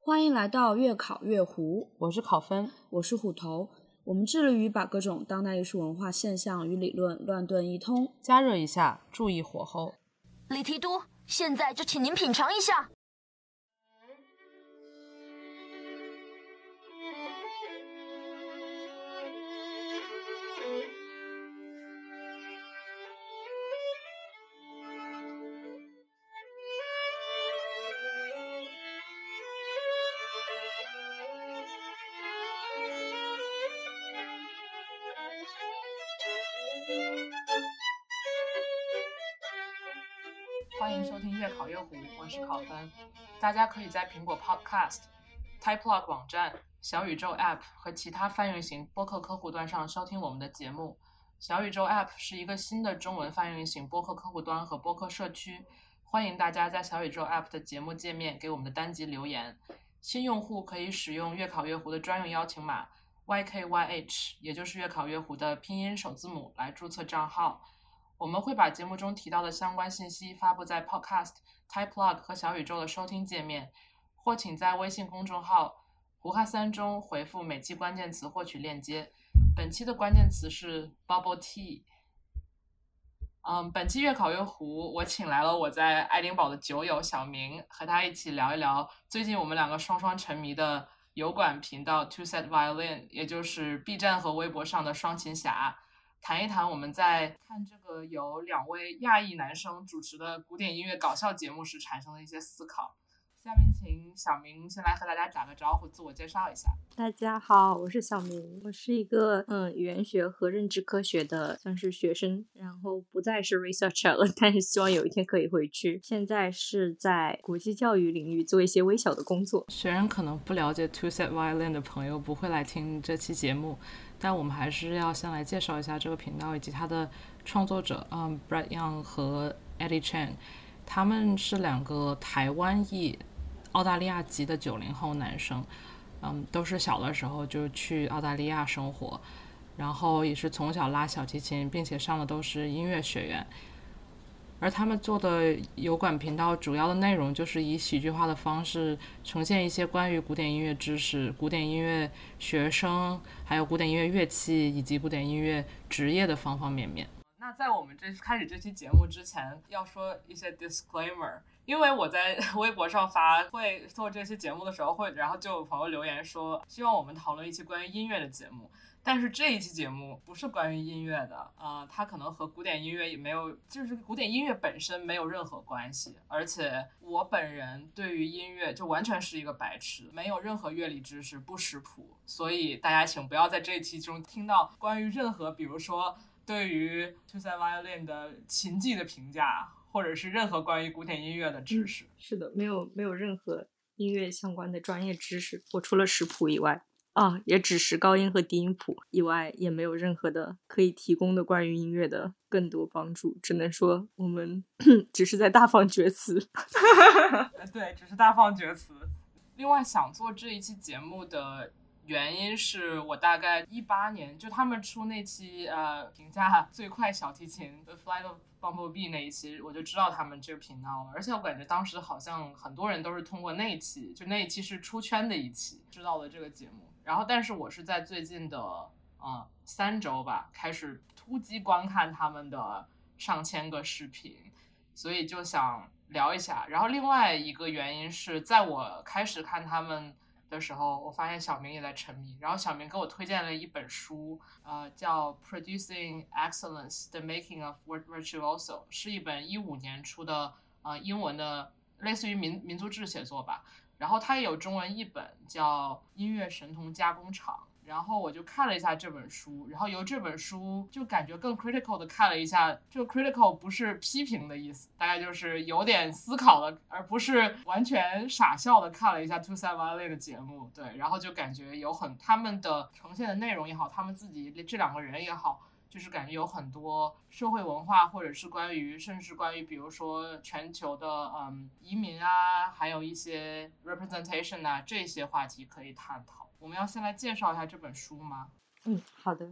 欢迎来到越考越糊， 我是考分， 我是虎头。我们致力于把各种当代艺术文化现象与理论乱炖一通， 加热一下，注意火候。 李提督，现在就请您品尝一下。 欢迎收听越考越糊，我是考分。大家可以在苹果 Podcast、Typelog 网站、小宇宙 App 和其他泛用型播客客户端上收听我们的节目。小宇宙 App 是一个新的中文泛用型播客客户端和播客社区，欢迎大家在小宇宙 App 的节目界面给我们的单集留言。新用户可以使用越考越糊的专用邀请码 YKYH， 也就是越考越糊的拼音首字母来注册账号。我们会把节目中提到的相关信息发布在 Podcast、Typelog 和小宇宙的收听界面，或请在微信公众号胡哈三中回复每期关键词获取链接。本期的关键词是 Bubble Tea。本期越考越糊，我请来了我在爱丁堡的酒友小明，和他一起聊一聊最近我们两个双双沉迷的油管频道 Two Set Violin， 也就是 B 站和微博上的双琴侠，谈一谈我们在看这个由两位亚裔男生主持的古典音乐搞笑节目时产生的一些思考。下面请小明先来和大家打个招呼，自我介绍一下。 大家好，我是小明，我是一个语言学和认知科学的算是学生，然后不再是 researcher 了，但是希望有一天可以回去。现在是在国际教育领域做一些微小的工作。 虽然可能不了解 Two Set Violin 的朋友不会来听这期节目，但我们还是要先来介绍一下这个频道以及它的创作者Brett Young 和 Eddie Chen。 他们是两个台湾裔澳大利亚籍的90后男生，都是小的时候就去澳大利亚生活，然后也是从小拉小提琴，并且上的都是音乐学院。而他们做的油管频道主要的内容就是以喜剧化的方式呈现一些关于古典音乐知识、古典音乐学生，还有古典音乐乐器以及古典音乐职业的方方面面。那在我们开始这期节目之前，要说一些 disclaimer， 因为我在微博上会做这期节目的时候然后就有朋友留言说希望我们讨论一期关于音乐的节目，但是这一期节目不是关于音乐的，它可能和古典音乐也没有，就是古典音乐本身没有任何关系，而且我本人对于音乐就完全是一个白痴，没有任何乐理知识，不识谱，所以大家请不要在这一期中听到关于任何比如说对于 Two Set Violin 的琴技的评价，或者是任何关于古典音乐的知识。 是的，没有任何音乐相关的专业知识，我除了识谱以外也只识高音和低音谱以外，也没有任何的可以提供的关于音乐的更多帮助，只能说我们只是在大放厥词。 对，只是大放厥词。另外想做这一期节目的原因是我大概18年就他们出那期评价最快小提琴 The Flight of Bumblebee 那一期，我就知道他们这个频道了，而且我感觉当时好像很多人都是通过那一期，就那一期是出圈的一期知道了这个节目。然后但是我是在最近的3周吧开始突击观看他们的上千个视频，所以就想聊一下。然后另外一个原因是在我开始看他们的时候，我发现小明也在沉迷，然后小明给我推荐了一本书，叫 Producing Excellence: The Making of Virtuoso， 是一本15年出的英文的类似于民族志写作吧，然后它也有中文译本叫音乐神童加工厂。然后我就看了一下这本书，然后由这本书就感觉更 critical 的看了一下，这个 critical 不是批评的意思，大概就是有点思考的，而不是完全傻笑的看了一下 Two Set Violin 的节目。对，然后就感觉他们的呈现的内容也好，他们自己这两个人也好，就是感觉有很多社会文化，或者是甚至关于比如说全球的移民啊，还有一些 representation 啊，这些话题可以探讨。我们要先来介绍一下这本书吗？ 好的。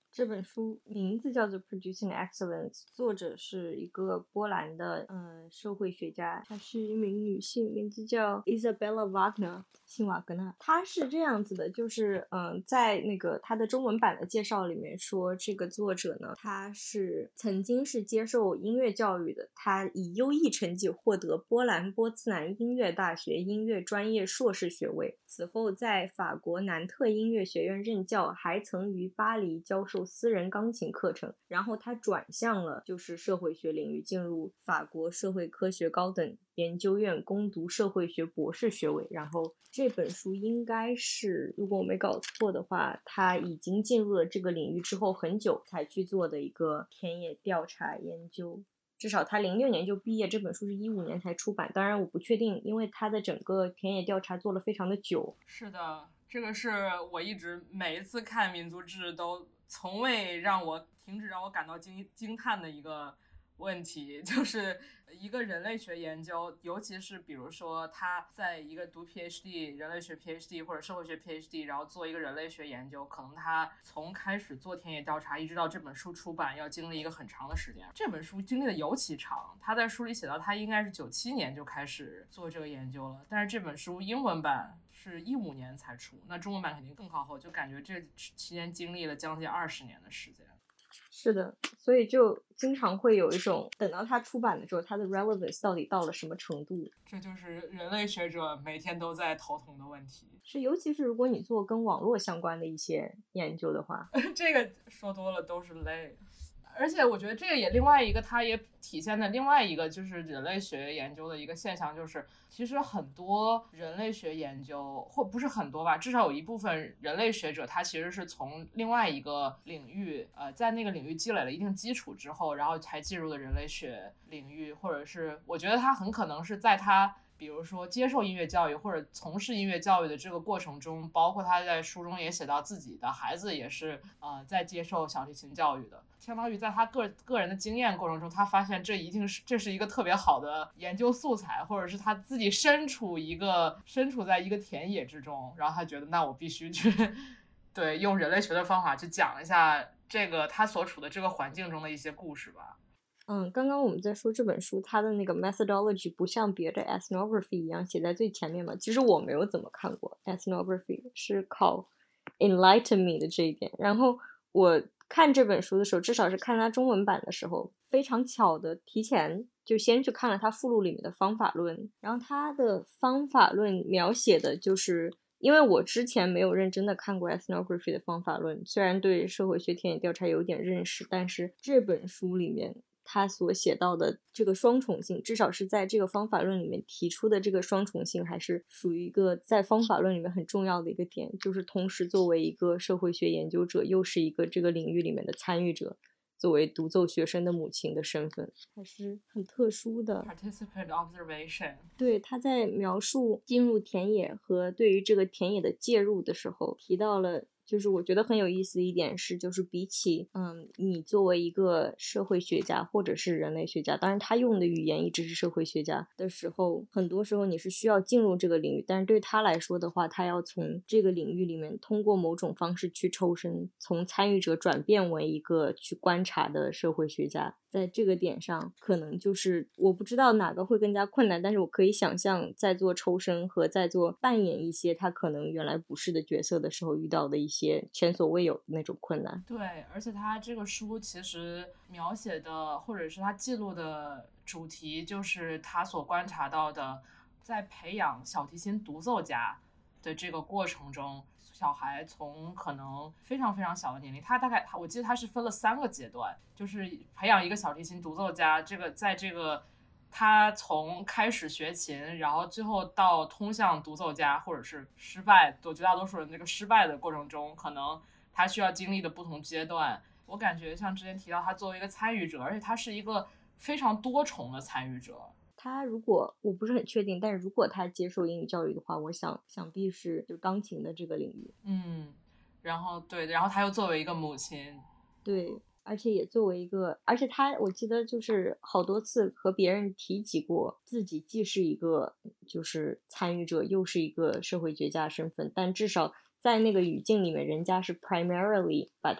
这本书名字叫做《Producing Excellence》，作者是一个波兰的社会学家，她是一名女性，名字叫 Isabella Wagner， 辛瓦格纳。她是这样子的，就是在那个她的中文版的介绍里面说，这个作者呢，她是曾经是接受音乐教育的，她以优异成绩获得波兰波茨南音乐大学音乐专业硕士学位，此后在法国南特音乐学院任教，还曾于巴黎教授私人钢琴课程，然后他转向了就是社会学领域，进入法国社会科学高等研究院攻读社会学博士学位。然后这本书应该是，如果我没搞错的话，他已经进入了这个领域之后很久才去做的一个田野调查研究。至少他06年就毕业，这本书是15年才出版，当然我不确定，因为他的整个田野调查做了非常的久。 是的，这个是我一直每一次看民族志都从未让我停止让我感到惊叹的一个问题，就是一个人类学研究，尤其是比如说他在一个读 PhD 人类学 PhD 或者社会学 PhD， 然后做一个人类学研究，可能他从开始做田野调查一直到这本书出版要经历一个很长的时间。这本书经历的尤其长，他在书里写到他应该是97年就开始做这个研究了，但是这本书英文版是15年才出，那中文版肯定更靠后，就感觉这期间经历了将近20年的时间。 是的，所以就经常会有一种等到它出版的时候，它的 relevance 到底到了什么程度？ 这就是人类学者每天都在头疼的问题。 是，尤其是如果你做跟网络相关的一些研究的话， 这个说多了都是泪。而且我觉得这个也另外一个，它也体现的另外一个就是人类学研究的一个现象，就是其实很多人类学研究，或不是很多吧，至少有一部分人类学者，他其实是从另外一个领域，在那个领域积累了一定基础之后，然后才进入的人类学领域，或者是我觉得他很可能是在他比如说接受音乐教育或者从事音乐教育的这个过程中，包括他在书中也写到自己的孩子也是在接受小提琴教育的，相当于在他个人的经验过程中，他发现这是一个特别好的研究素材，或者是他自己身处在一个田野之中，然后他觉得那我必须去对用人类学的方法去讲一下这个他所处的这个环境中的一些故事吧。 刚刚我们在说这本书，它的那个 methodology 不像别的 ethnography 一样写在最前面嘛。其实我没有怎么看过 ethnography， 是靠 enlighten me 的这一点。然后我看这本书的时候，至少是看它中文版的时候，非常巧的提前就先去看了它附录里面的方法论。然后它的方法论描写的就是，因为我之前没有认真的看过 ethnography 的方法论，虽然对社会学田野调查有点认识，但是这本书里面他所写到的这个双重性，至少是在这个方法论里面提出的这个双重性，还是属于一个在方法论里面很重要的一个点，就是同时作为一个社会学研究者，又是一个这个领域里面的参与者，作为独奏学生的母亲的身份，还是很特殊的。 Participant observation。 对，他在描述进入田野和对于这个田野的介入的时候，提到了。就是我觉得很有意思一点是，就是比起你作为一个社会学家或者是人类学家，当然他用的语言一直是社会学家的时候，很多时候你是需要进入这个领域，但是对他来说的话，他要从这个领域里面通过某种方式去抽身，从参与者转变为一个去观察的社会学家。在这个点上，可能就是我不知道哪个会更加困难，但是我可以想象在做抽身和在做扮演一些他可能原来不是的角色的时候遇到的一些前所未有的那种困难。 对，而且他这个书其实描写的或者是他记录的主题，就是他所观察到的在培养小提琴独奏家的这个过程中，小孩从可能非常非常小的年龄，他大概我记得他是分了3个阶段，就是培养一个小提琴独奏家，在这个他从开始学琴，然后最后到通向独奏家，或者是失败，绝大多数人这个失败的过程中，可能他需要经历的不同阶段。我感觉像之前提到，他作为一个参与者，而且他是一个非常多重的参与者。 他如果我不是很确定，但是如果他接受英语教育的话，我想必是就钢琴的这个领域。 然后他又作为一个母亲， 对，而且也作为一个，而且他我记得就是好多次和别人提及过自己既是一个就是参与者，又是一个社会学家身份，但至少在那个语境里面，人家是 primarily 把他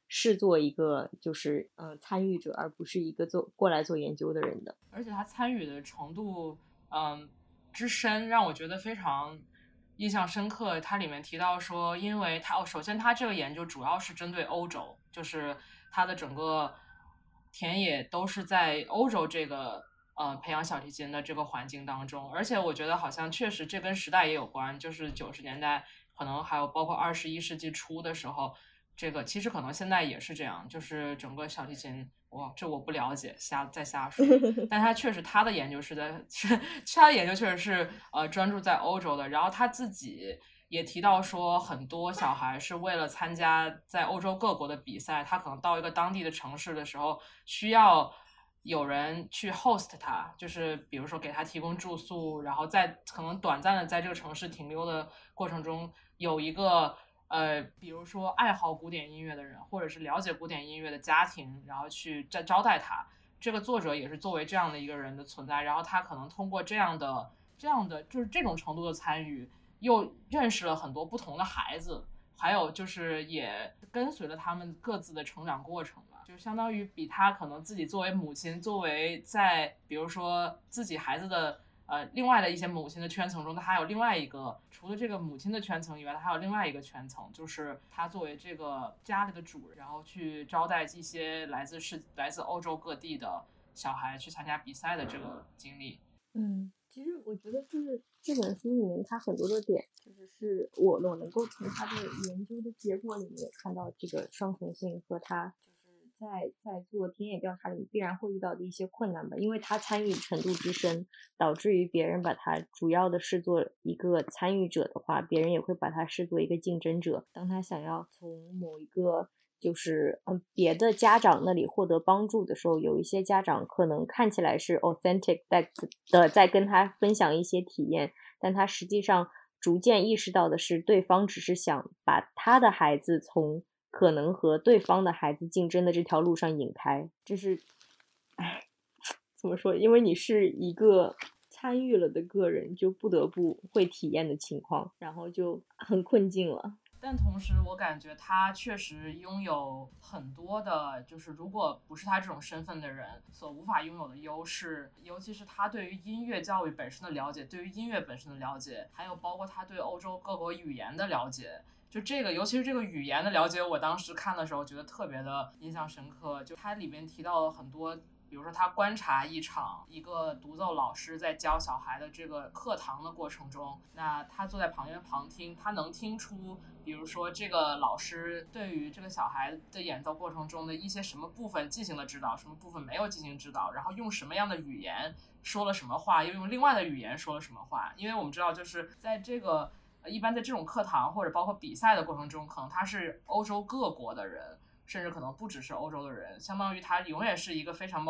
视作一个就是参与者，而不是一个过来做研究的人的。 而且他参与的程度之深让我觉得非常印象深刻。它里面提到说，因为首先他这个研究主要是针对欧洲，就是他的整个田野都是在欧洲这个培养小提琴的这个环境当中。而且我觉得好像确实这跟时代也有关，就是90年代可能还有包括21世纪初的时候，这个其实可能现在也是这样，就是整个小提琴，这我不了解，再瞎说。但他确实他的研究他的研究确实是专注在欧洲的。然后他自己也提到说，很多小孩是为了参加在欧洲各国的比赛，他可能到一个当地的城市的时候，需要有人去 host 他，就是比如说给他提供住宿，然后在可能短暂的在这个城市停留的过程中，有一个比如说爱好古典音乐的人，或者是了解古典音乐的家庭，然后去招待他。这个作者也是作为这样的一个人的存在，然后他可能通过这样的就是这种程度的参与，又认识了很多不同的孩子，还有就是也跟随了他们各自的成长过程吧，就相当于比他可能自己作为母亲，作为在比如说自己孩子的另外的一些母亲的圈层中，他还有另外一个，除了这个母亲的圈层以外，他还有另外一个圈层，就是他作为这个家里的主人，然后去招待一些来自欧洲各地的小孩去参加比赛的这个经历。 其实我觉得就是这本书里面它很多的点，就是我能够从它的研究的结果里面看到这个双重性和它就是在做田野调查里必然会遇到的一些困难吧，因为他参与程度之深，导致于别人把他主要的视作一个参与者的话，别人也会把他视作一个竞争者。当他想要从某一个就是别的家长那里获得帮助的时候，有一些家长可能看起来是 authentic 在跟他分享一些体验，但他实际上逐渐意识到的是，对方只是想把他的孩子从可能和对方的孩子竞争的这条路上引开。这是怎么说，因为你是一个参与了的个人，就不得不会体验的情况，然后就很困境了。 但同时我感觉他确实拥有很多的，就是如果不是他这种身份的人所无法拥有的优势，尤其是他对于音乐教育本身的了解，对于音乐本身的了解，还有包括他对欧洲各国语言的了解。就这个尤其是这个语言的了解，我当时看的时候觉得特别的印象深刻。就他里面提到了很多，比如说他观察一个独奏老师在教小孩的这个课堂的过程中，那他坐在旁边旁听，他能听出比如说这个老师对于这个小孩的演奏过程中的一些什么部分进行了指导，什么部分没有进行指导，然后用什么样的语言说了什么话，又用另外的语言说了什么话。因为我们知道就是在这个一般在这种课堂或者包括比赛的过程中，可能他是欧洲各国的人，甚至可能不只是欧洲的人，相当于它永远是一个非常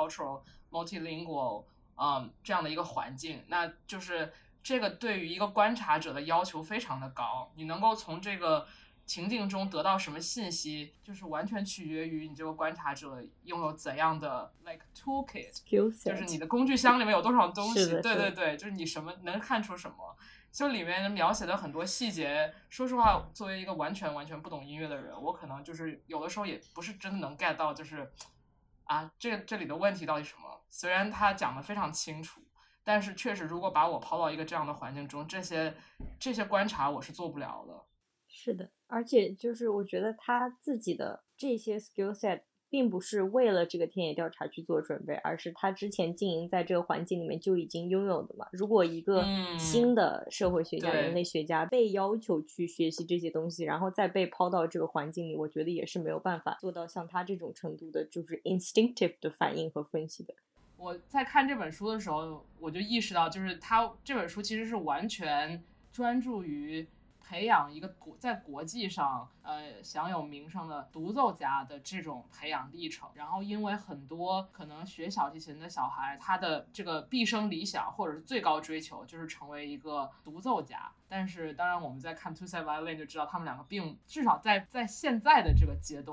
multicultural、multilingual 这样的一个环境。那就是这个对于一个观察者的要求非常的高，你能够从这个情境中得到什么信息，就是完全取决于你这个观察者拥有怎样的 like toolkit， 就是你的工具箱里面有多少东西。对对对，就是你什么能看出什么。就里面描写的很多细节，说实话，作为一个完全不懂音乐的人，我可能就是有的时候也不是真的能 get 到，就是这里的问题到底什么。虽然他讲的非常清楚，但是确实如果把我抛到一个这样的环境中，这些观察我是做不了的。 是的，而且就是我觉得他自己的这些 skill set并不是为了这个田野调查去做准备，而是他之前经营在这个环境里面就已经拥有的嘛。如果一个新的社会学家、人类学家被要求去学习这些东西，然后再被抛到这个环境里，我觉得也是没有办法做到像他这种程度的，就是 instinctive 的反应和分析的。 我在看这本书的时候，我就意识到，就是他这本书其实是完全专注于培养一个在国际上享有名声的独奏家的这种培养历程。然后因为很多可能学小提琴的小孩，他的这个毕生理想或者是最高追求就是成为一个独奏家，但是当然我们在看 Two Side Violin 就知道他们两个并至少在现在的这个阶段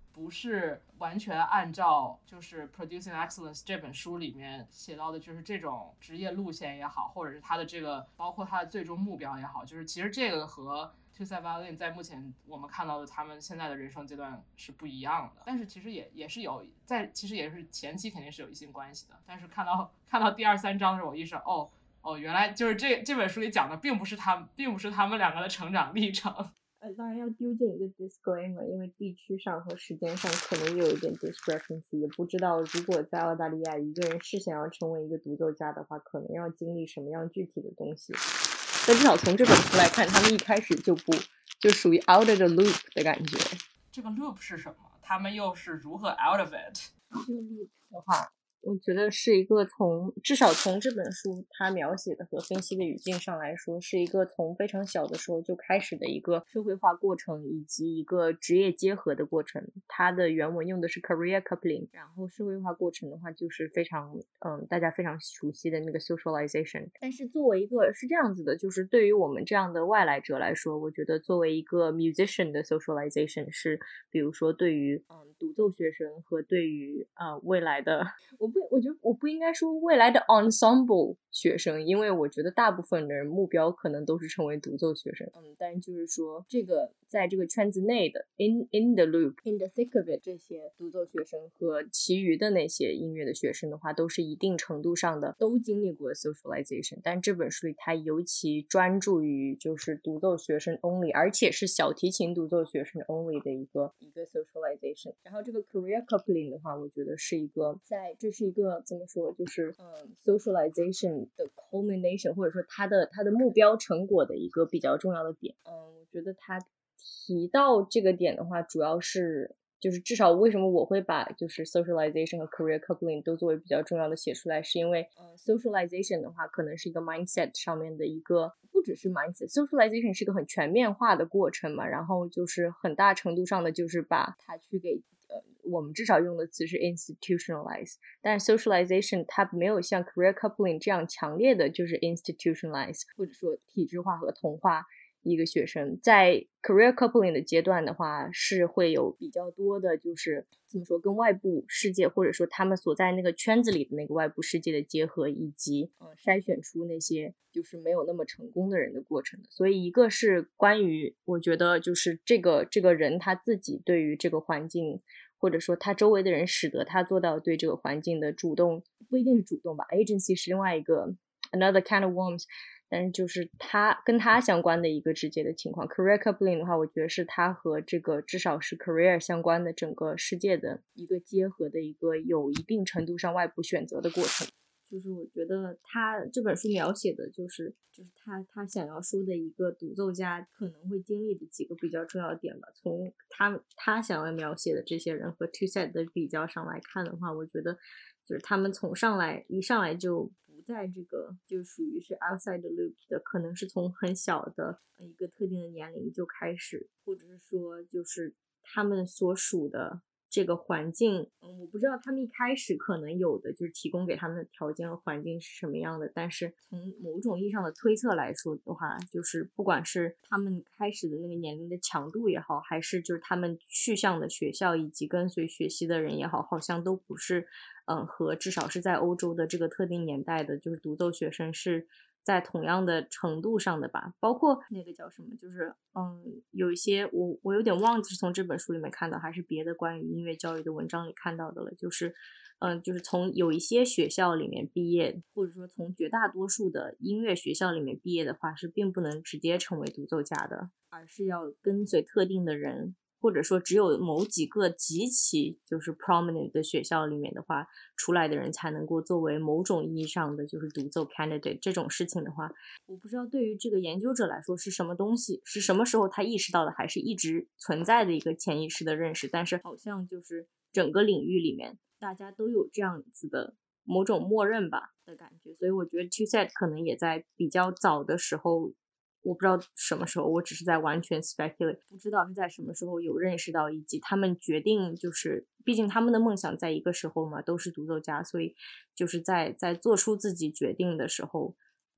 不是完全按照就是《Producing Excellence》这本书里面写到的，就是这种职业路线也好，或者是他的这个包括他的最终目标也好，就是其实这个和 Two-Side Violin 在目前我们看到的他们现在的人生阶段是不一样的，但是其实也是有其实也是前期肯定是有一些关系的，但是看到第2、3章的时候，我意识到原来就是这本书里讲的并不是他们两个的成长历程。 当然要丢进一个 disclaimer， 因为地区上和时间上可能有一点 discrepancy， 也不知道如果在澳大利亚一个人是想要成为一个独奏家的话，可能要经历什么样具体的东西。但至少从这本书来看，他们一开始就属于 out of the loop 的感觉。 这个 loop 是什么？他们又是如何 out of it？ 这个 loop 的话，我觉得是一个至少从这本书它描写的和分析的语境上来说，是一个从非常小的时候就开始的一个社会化过程，以及一个职业结合的过程。它的原文用的是 career coupling， 然后社会化过程的话就是非常大家非常熟悉的那个 socialization。 但是作为一个是这样子的，就是对于我们这样的外来者来说，我觉得作为一个 musician 的 socialization 是比如说对于独奏学生和对于未来的我觉得我不应该说未来的 ensemble 学生，因为我觉得大部分的人目标可能都是成为独奏学生。但是就是说这个在这个圈子内的 in the loop in the thick of it 这些独奏学生和其余的那些音乐的学生的话，都是一定程度上的都经历过 socialization。 但这本书里它尤其专注于就是独奏学生 only， 而且是小提琴独奏学生 only 的一个 socialization。 然后这个 career coupling 的话，我觉得是一个这是一个怎么说，就是socialization 的 culmination， 或者说它的目标成果的一个比较重要的点。我觉得他提到这个点的话，主要是就是至少为什么我会把就是 socialization 和 career coupling 都作为比较重要的写出来，是因为socialization 的话可能是一个 mindset 上面的一个，不只是 mindset， socialization 是一个很全面化的过程嘛，然后就是很大程度上的就是把它去给我们至少用的词是 institutionalize， 但是 socialization 它没有像 career coupling 这样强烈的就是 institutionalize 或者说体制化和同化一个学生。在 career coupling 的阶段的话，是会有比较多的就是怎么说跟外部世界或者说他们所在那个圈子里的那个外部世界的结合，以及筛选出那些就是没有那么成功的人的过程的。所以一个是关于我觉得就是这个人他自己对于这个环境或者说他周围的人使得他做到对这个环境的主动，不一定是主动吧， agency 是另外一个 another kind of worms， 但是就是他跟他相关的一个直接的情况。 career coupling 的话，我觉得是他和这个至少是 career 相关的整个世界的一个结合的一个有一定程度上外部选择的过程。就是我觉得他这本书描写的就是他想要说的一个独奏家可能会经历的几个比较重要的点吧。从他想要描写的这些人和 Two-Side 的比较上来看的话，我觉得就是他们一上来就不在这个就属于是 outside the loop 的，可能是从很小的一个特定的年龄就开始，或者是说就是他们所属的这个环境，我不知道他们一开始可能有的就是提供给他们的条件和环境是什么样的，但是从某种意义上的推测来说的话，就是不管是他们开始的那个年龄的强度也好，还是就是他们去向的学校以及跟随学习的人也好，好像都不是和至少是在欧洲的这个特定年代的就是独奏学生是在同样的程度上的吧。包括那个叫什么，就是有一些我有点忘记是从这本书里面看到还是别的关于音乐教育的文章里看到的了，就是从有一些学校里面毕业，或者说从绝大多数的音乐学校里面毕业的话，是并不能直接成为独奏家的，而是要跟随特定的人，或者说只有某几个极其就是 prominent 的学校里面的话出来的人才能够作为某种意义上的就是独奏 candidate。 这种事情的话，我不知道对于这个研究者来说是什么东西，是什么时候他意识到的，还是一直存在的一个潜意识的认识，但是好像就是整个领域里面大家都有这样子的某种默认吧的感觉。所以我觉得 Two-Side 可能也在比较早的时候，我不知道什么时候，我只是在完全 speculate， 不知道是在什么时候有认识到，以及他们决定就是毕竟他们的梦想在一个时候嘛，都是独奏家，所以就是在做出自己决定的时候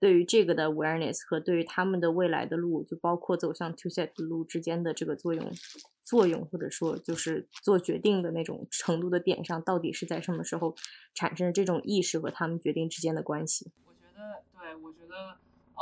对于这个的 awareness 和对于他们的未来的路，就包括走向 TwoSet 的路之间的这个作用，或者说就是做决定的那种程度的点上，到底是在什么时候产生这种意识和他们决定之间的关系。 我觉得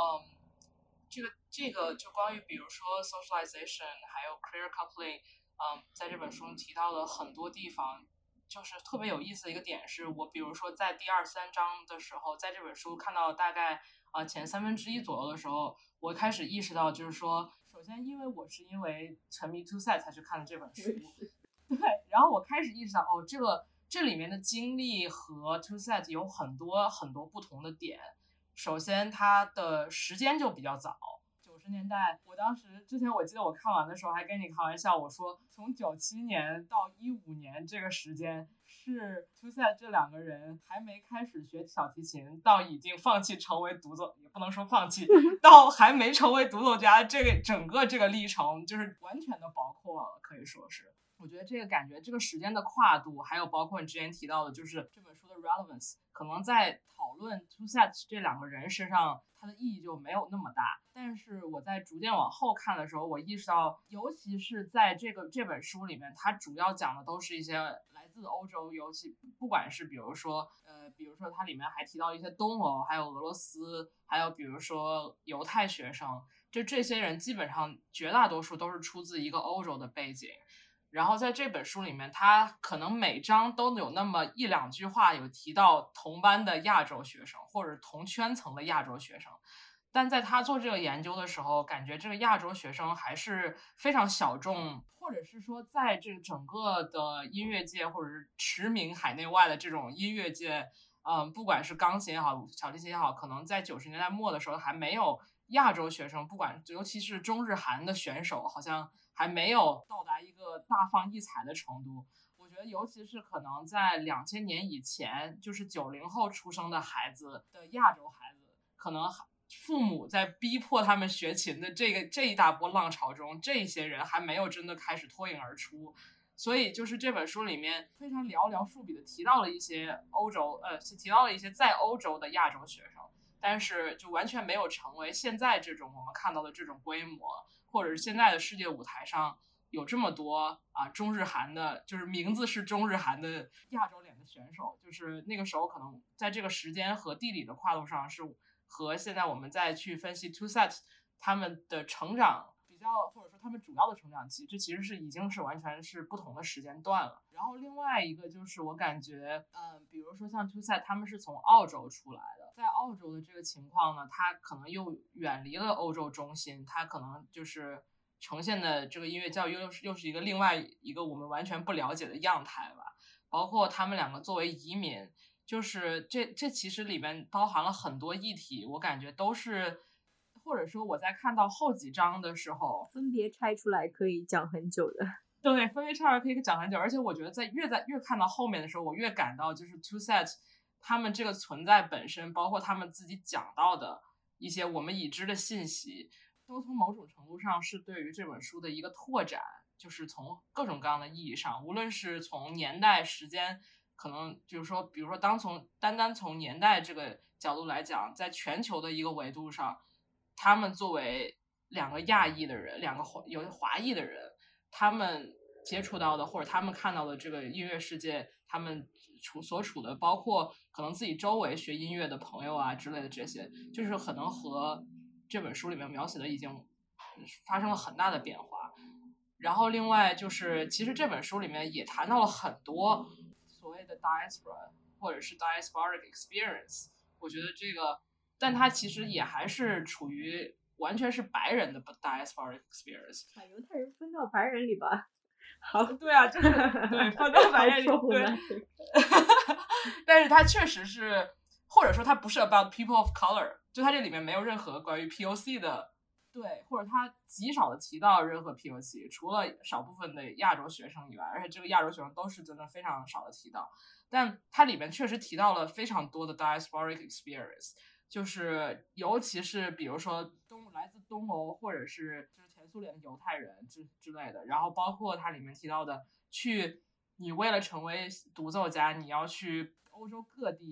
这个就关于比如说 socialization 还有 career coupling，在这本书提到了很多地方。就是特别有意思的一个点是，我比如说在第2、3章的时候，在这本书看到大概前1/3左右的时候，我开始意识到，就是说，首先因为我是因为沉迷 TwoSet 才去看的这本书，对，然后我开始意识到，这里面的经历和 TwoSet 有很多很多不同的点。首先，它的时间就比较早。90年代，我当时之前我记得我看完的时候还跟你开玩笑，我说从97年到15年这个时间是 TwoSet 这2个人还没开始学小提琴到已经放弃成为独奏，也不能说放弃，到还没成为独奏家，这个整个这个历程就是完全的包括了，可以说是。我觉得这个感觉，这个时间的跨度，还有包括你之前提到的，就是这本书的 relevance， 可能在讨论 TwoSet 这2个人身上，它的意义就没有那么大。但是我在逐渐往后看的时候，我意识到，尤其是在这本书里面，它主要讲的都是一些来自欧洲，尤其不管是比如说它里面还提到一些东欧，还有俄罗斯，还有比如说犹太学生，就这些人基本上绝大多数都是出自一个欧洲的背景。然后在这本书里面，他可能每章都有那么1、2句话有提到同班的亚洲学生或者同圈层的亚洲学生，但在他做这个研究的时候，感觉这个亚洲学生还是非常小众，或者是说在这整个的音乐界或者是驰名海内外的这种音乐界，不管是钢琴也好，小提琴也好，可能在90年代末的时候还没有亚洲学生，不管尤其是中日韩的选手，好像还没有到达一个大放异彩的程度。我觉得尤其是可能在2000年以前，就是90后出生的孩子的亚洲孩子，可能父母在逼迫他们学琴的这一大波浪潮中，这些人还没有真的开始脱颖而出。所以就是这本书里面非常寥寥数笔的提到了一些提到了一些在欧洲的亚洲学生，但是就完全没有成为现在这种我们看到的这种规模，或者是现在的世界舞台上有这么多中日韩的，就是名字是中日韩的亚洲脸的选手。就是那个时候可能在这个时间和地理的跨度上，是和现在我们再去分析 TwoSet 他们的成长比较，或者说他们主要的成长期，这其实是已经是完全是不同的时间段了。然后另外一个就是我感觉比如说像 TwoSet 他们是从澳洲出来的，在澳洲的这个情况呢，它可能又远离了欧洲中心，它可能就是呈现的这个音乐教育又是一个另外一个我们完全不了解的样态吧。包括他们2个作为移民，就是这其实里面包含了很多议题，我感觉都是，或者说我在看到后几章的时候， 分别拆出来可以讲很久的。 对，分别拆出来可以讲很久。而且我觉得越看到后面的时候，我越感到就是 TwoSet 他们这个存在本身，包括他们自己讲到的一些我们已知的信息，都从某种程度上是对于这本书的一个拓展，就是从各种各样的意义上，无论是从年代时间，可能就是说比如说单单从年代这个角度来讲，在全球的一个维度上，他们作为2个亚裔的人，2个有华裔的人，他们接触到的或者他们看到的这个音乐世界，他们所处的包括可能自己周围学音乐的朋友之类的，这些就是可能和这本书里面描写的已经发生了很大的变化。然后另外就是其实这本书里面也谈到了很多所谓的 diaspora 或者是 diasporic experience， 我觉得这个但它其实也还是处于完全是白人的 diasporic experience， 把犹太人分到白人里吧。好， 对啊，就是对分到白人里，对但是它确实是，或者说它不是 about people of color， 就它这里面没有任何关于 POC 的，对，或者它极少的提到任何 POC， 除了少部分的亚洲学生以外，而且这个亚洲学生都是真的非常少的提到，但它里面确实提到了非常多的 diasporic experience， 就是尤其是比如说来自东欧或者是就是前苏联的犹太人之类的，然后包括它里面提到的你为了成为独奏家，你要去欧洲各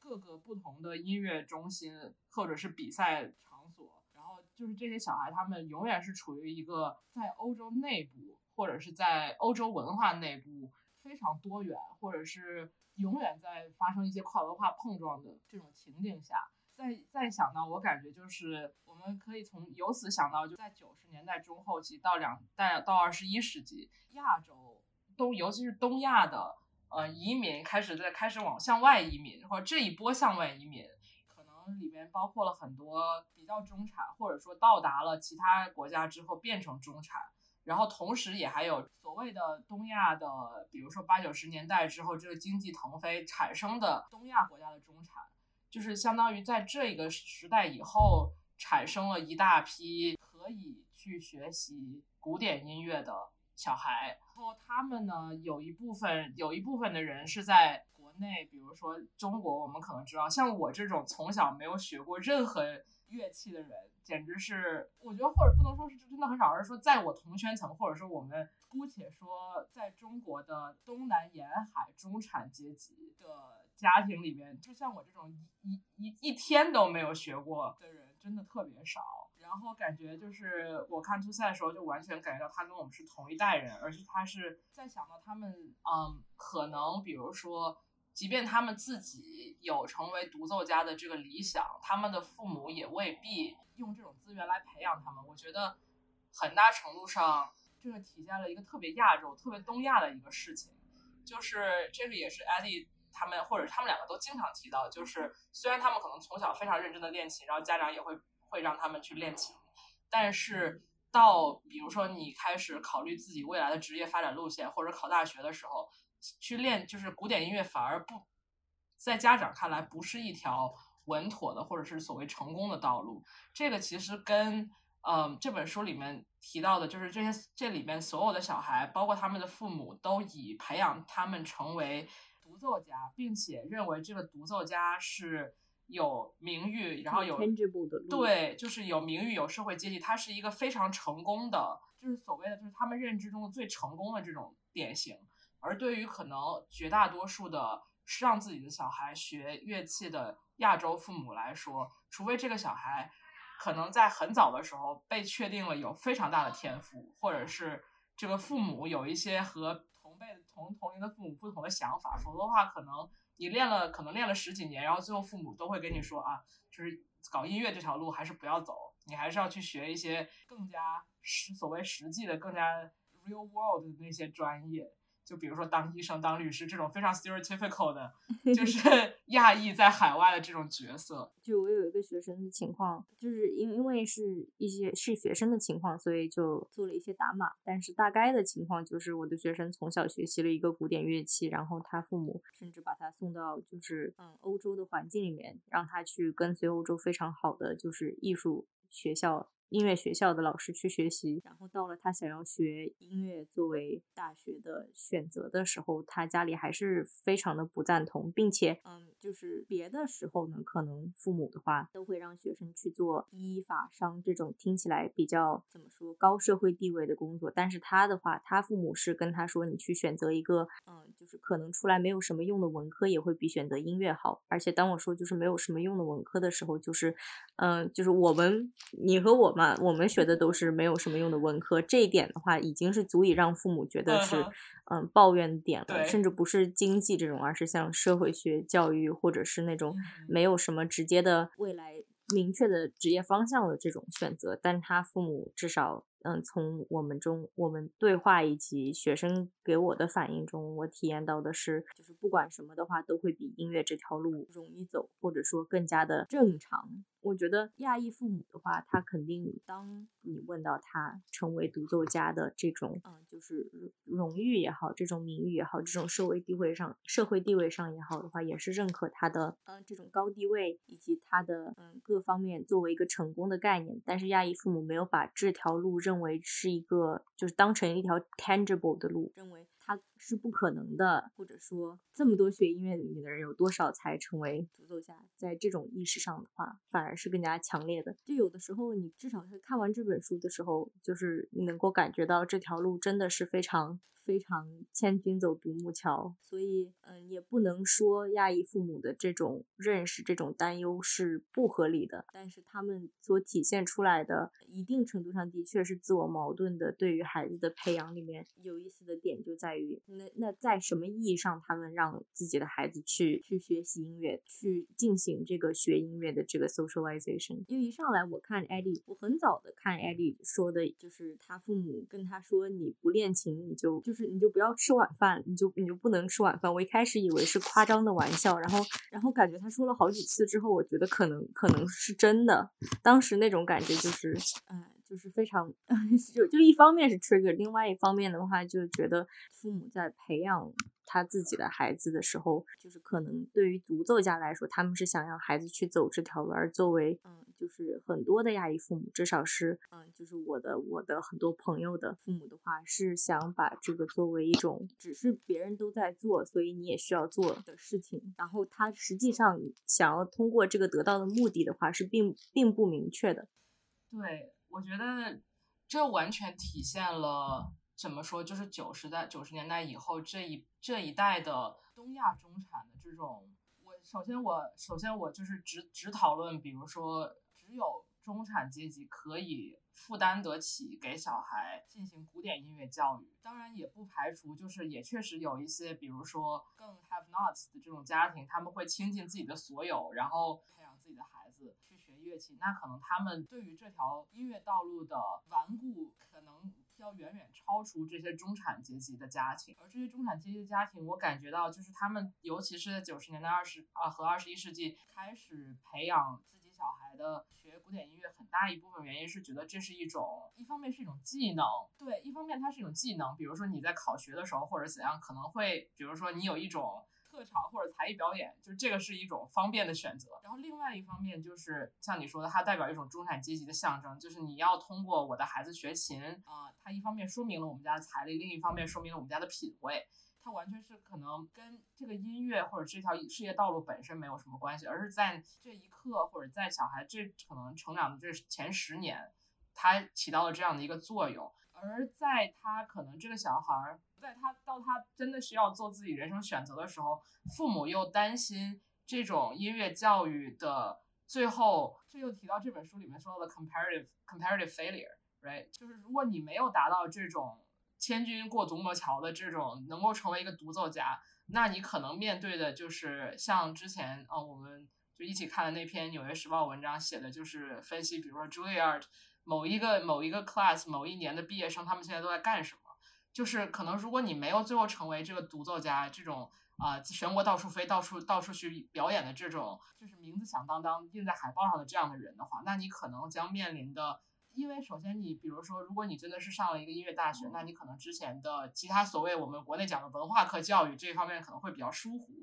各个不同的音乐中心或者是比赛场所，然后就是这些小孩他们永远是处于一个在欧洲内部或者是在欧洲文化内部非常多元，或者是永远在发生一些跨文化碰撞的这种情景下，再想到，我感觉就是我们可以由此想到，就在90年代中后期到21世纪，亚洲尤其是东亚的移民开始向外移民，或者这一波向外移民，可能里边包括了很多比较中产，或者说到达了其他国家之后变成中产。然后同时也还有所谓的东亚的，比如说80、90年代之后这个经济腾飞产生的东亚国家的中产，就是相当于在这个时代以后产生了一大批可以去学习古典音乐的小孩。然后他们呢，有一部分的人是在国内，比如说中国，我们可能知道，像我这种从小没有学过任何乐器的人，简直是我觉得，或者不能说是真的很少，而是说在我同圈层，或者说我们姑且说在中国的东南沿海中产阶级的家庭里面，就像我这种一天都没有学过的人真的特别少。然后感觉就是我看初赛的时候就完全感觉到他跟我们是同一代人，而且他是在想到他们可能比如说即便他们自己有成为独奏家的这个理想，他们的父母也未必用这种资源来培养他们。我觉得很大程度上这个体现了一个特别亚洲特别东亚的一个事情，就是这个也是 Eddie 他们或者他们两个都经常提到，就是虽然他们可能从小非常认真的练琴，然后家长也会让他们去练琴，但是到比如说你开始考虑自己未来的职业发展路线或者考大学的时候去练，就是古典音乐反而不在家长看来不是一条稳妥的或者是所谓成功的道路。这个其实跟这本书里面提到的就是这里面所有的小孩包括他们的父母都以培养他们成为独奏家，并且认为这个独奏家是有名誉，然后有对，就是有名誉有社会阶级，他是一个非常成功的，就是所谓的就是他们认知中的最成功的这种典型。而对于可能绝大多数的让自己的小孩学乐器的亚洲父母来说，除非这个小孩可能在很早的时候被确定了有非常大的天赋，或者是这个父母有一些和同龄的父母不同的想法，否则的话可能你练了10几年，然后最后父母都会跟你说啊，就是搞音乐这条路还是不要走，你还是要去学一些更加所谓实际的更加 real world 的那些专业，就比如说当医生当律师这种非常 stereotypical 的就是亚裔在海外的这种角色。 就我有一个学生的情况，就是因为是学生的情况，所以就做了一些打码，但是大概的情况就是我的学生从小学习了一个古典乐器，然后他父母甚至把他送到就是欧洲的环境里面，让他去跟随欧洲非常好的就是艺术学校音乐学校的老师去学习，然后到了他想要学音乐作为大学的选择的时候，他家里还是非常的不赞同，并且就是别的时候呢，可能父母的话都会让学生去做医法商这种听起来比较怎么说高社会地位的工作，但是他的话，他父母是跟他说你去选择一个就是可能出来没有什么用的文科也会比选择音乐好。而且当我说就是没有什么用的文科的时候，就是就是你和我嘛，我们学的都是没有什么用的文科，这一点的话已经是足以让父母觉得是抱怨点了，甚至不是经济这种，而是像社会学教育或者是那种没有什么直接的未来明确的职业方向的这种选择。但他父母至少从我们对话以及学生给我的反应中，我体验到的是就是不管什么的话都会比音乐这条路容易走，或者说更加的正常。我觉得亚裔父母的话，他肯定当你问到他成为独奏家的这种就是荣誉也好，这种名誉也好，这种社会地位上也好的话，也是认可他的这种高地位以及他的各方面作为一个成功的概念。但是亚裔父母没有把这条路认为是一个就是当成一条 tangible 的路，认为它是不可能的，或者说这么多学音乐领域的人有多少才成为独奏家，在这种意识上的话反而是更加强烈的。就有的时候你至少是看完这本书的时候，就是你能够感觉到这条路真的是非常非常千军走独木桥，所以也不能说亚裔父母的这种认识这种担忧是不合理的，但是他们所体现出来的一定程度上的确是自我矛盾的。对于孩子的培养里面有意思的点就在于那在什么意义上他们让自己的孩子去学习音乐，去进行这个学音乐的这个 socialization。 因为一上来我看 Eddie， 我很早的看 Eddie 说的就是他父母跟他说你不练琴你就不要吃晚饭，你就不能吃晚饭。我一开始以为是夸张的玩笑，然后感觉他说了好几次之后，我觉得可能是真的。当时那种感觉就是非常就一方面是 trigger， 另外一方面的话就觉得父母在培养他自己的孩子的时候，就是可能对于独奏家来说他们是想让孩子去走这条路，而作为就是很多的亚裔父母，至少是就是我的很多朋友的父母的话，是想把这个作为一种只是别人都在做所以你也需要做的事情，然后他实际上想要通过这个得到的目的的话是并不明确的。 对，我觉得这完全体现了怎么说，就是90年代以后这一代的东亚中产的这种，首先我就是只讨论，比如说只有中产阶级可以负担得起给小孩进行古典音乐教育，当然也不排除就是也确实有一些比如说更 have nots 的这种家庭，他们会倾尽自己的所有，然后培养自己的孩子去学乐器，那可能他们对于这条音乐道路的顽固可能要远远超出这些中产阶级的家庭。而这些中产阶级的家庭，我感觉到就是他们尤其是在90年代和21世纪开始培养自己小孩的学古典音乐，很大一部分原因是觉得这是一方面是一种技能，对，一方面它是一种技能，比如说你在考学的时候或者怎样，可能会比如说你有一种特长或者才艺表演，就是这个是一种方便的选择。然后另外一方面就是像你说的，它代表一种中产阶级的象征，就是你要通过我的孩子学琴它一方面说明了我们家的财力，另一方面说明了我们家的品味。它完全是可能跟这个音乐或者这条事业道路本身没有什么关系，而是在这一刻或者在小孩这可能成长的这前10年，它起到了这样的一个作用。而在他可能这个小孩在他真的需要做自己人生选择的时候，父母又担心这种音乐教育的最后，这又提到这本书里面说到的 comparative failure， right？ 就是如果你没有达到这种千军过独木桥的这种能够成为一个独奏家，那你可能面对的就是像之前我们就一起看的那篇《纽约时报》文章写的，就是分析比如说 Juilliard某一个 class 某一年的毕业生他们现在都在干什么。就是可能如果你没有最后成为这个独奏家，这种全国到处飞到处去表演的这种就是名字响当当印在海报上的这样的人的话，那你可能将面临的，因为首先你比如说如果你真的是上了一个音乐大学，那你可能之前的其他所谓我们国内讲的文化课教育这一方面可能会比较疏忽，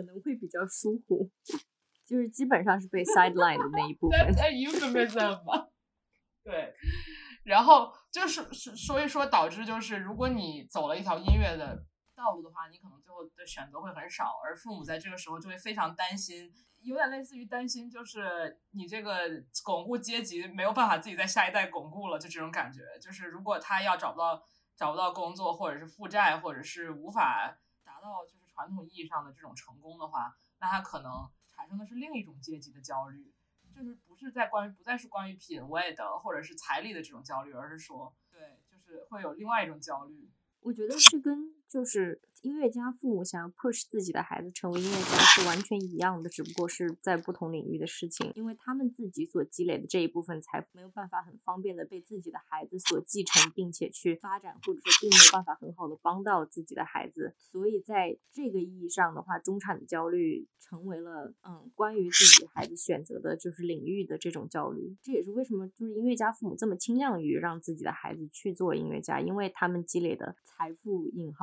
就是基本上是被 sideline 的那一部分。 That's a euphemism 对，然后就是所以说导致就是如果你走了一条音乐的道路的话，你可能最后的选择会很少，而父母在这个时候就会非常担心，有点类似于担心就是你这个巩固阶级没有办法自己在下一代巩固了，就这种感觉。就是如果他要找不到工作，或者是负债，或者是无法达到就是传统意义上的这种成功的话，那他可能产生的是另一种阶级的焦虑，就是不再是关于品味的或者是财力的这种焦虑，而是说对，就是会有另外一种焦虑。 我觉得是跟就是音乐家父母想要 push 自己的孩子成为音乐家是完全一样的，只不过是在不同领域的事情，因为他们自己所积累的这一部分财富没有办法很方便的被自己的孩子所继承并且去发展，或者说并没有办法很好的帮到自己的孩子，所以在这个意义上的话，中产的焦虑成为了关于自己孩子选择的就是领域的这种焦虑。这也是为什么就是音乐家父母这么倾向于让自己的孩子去做音乐家，因为他们积累的财富引号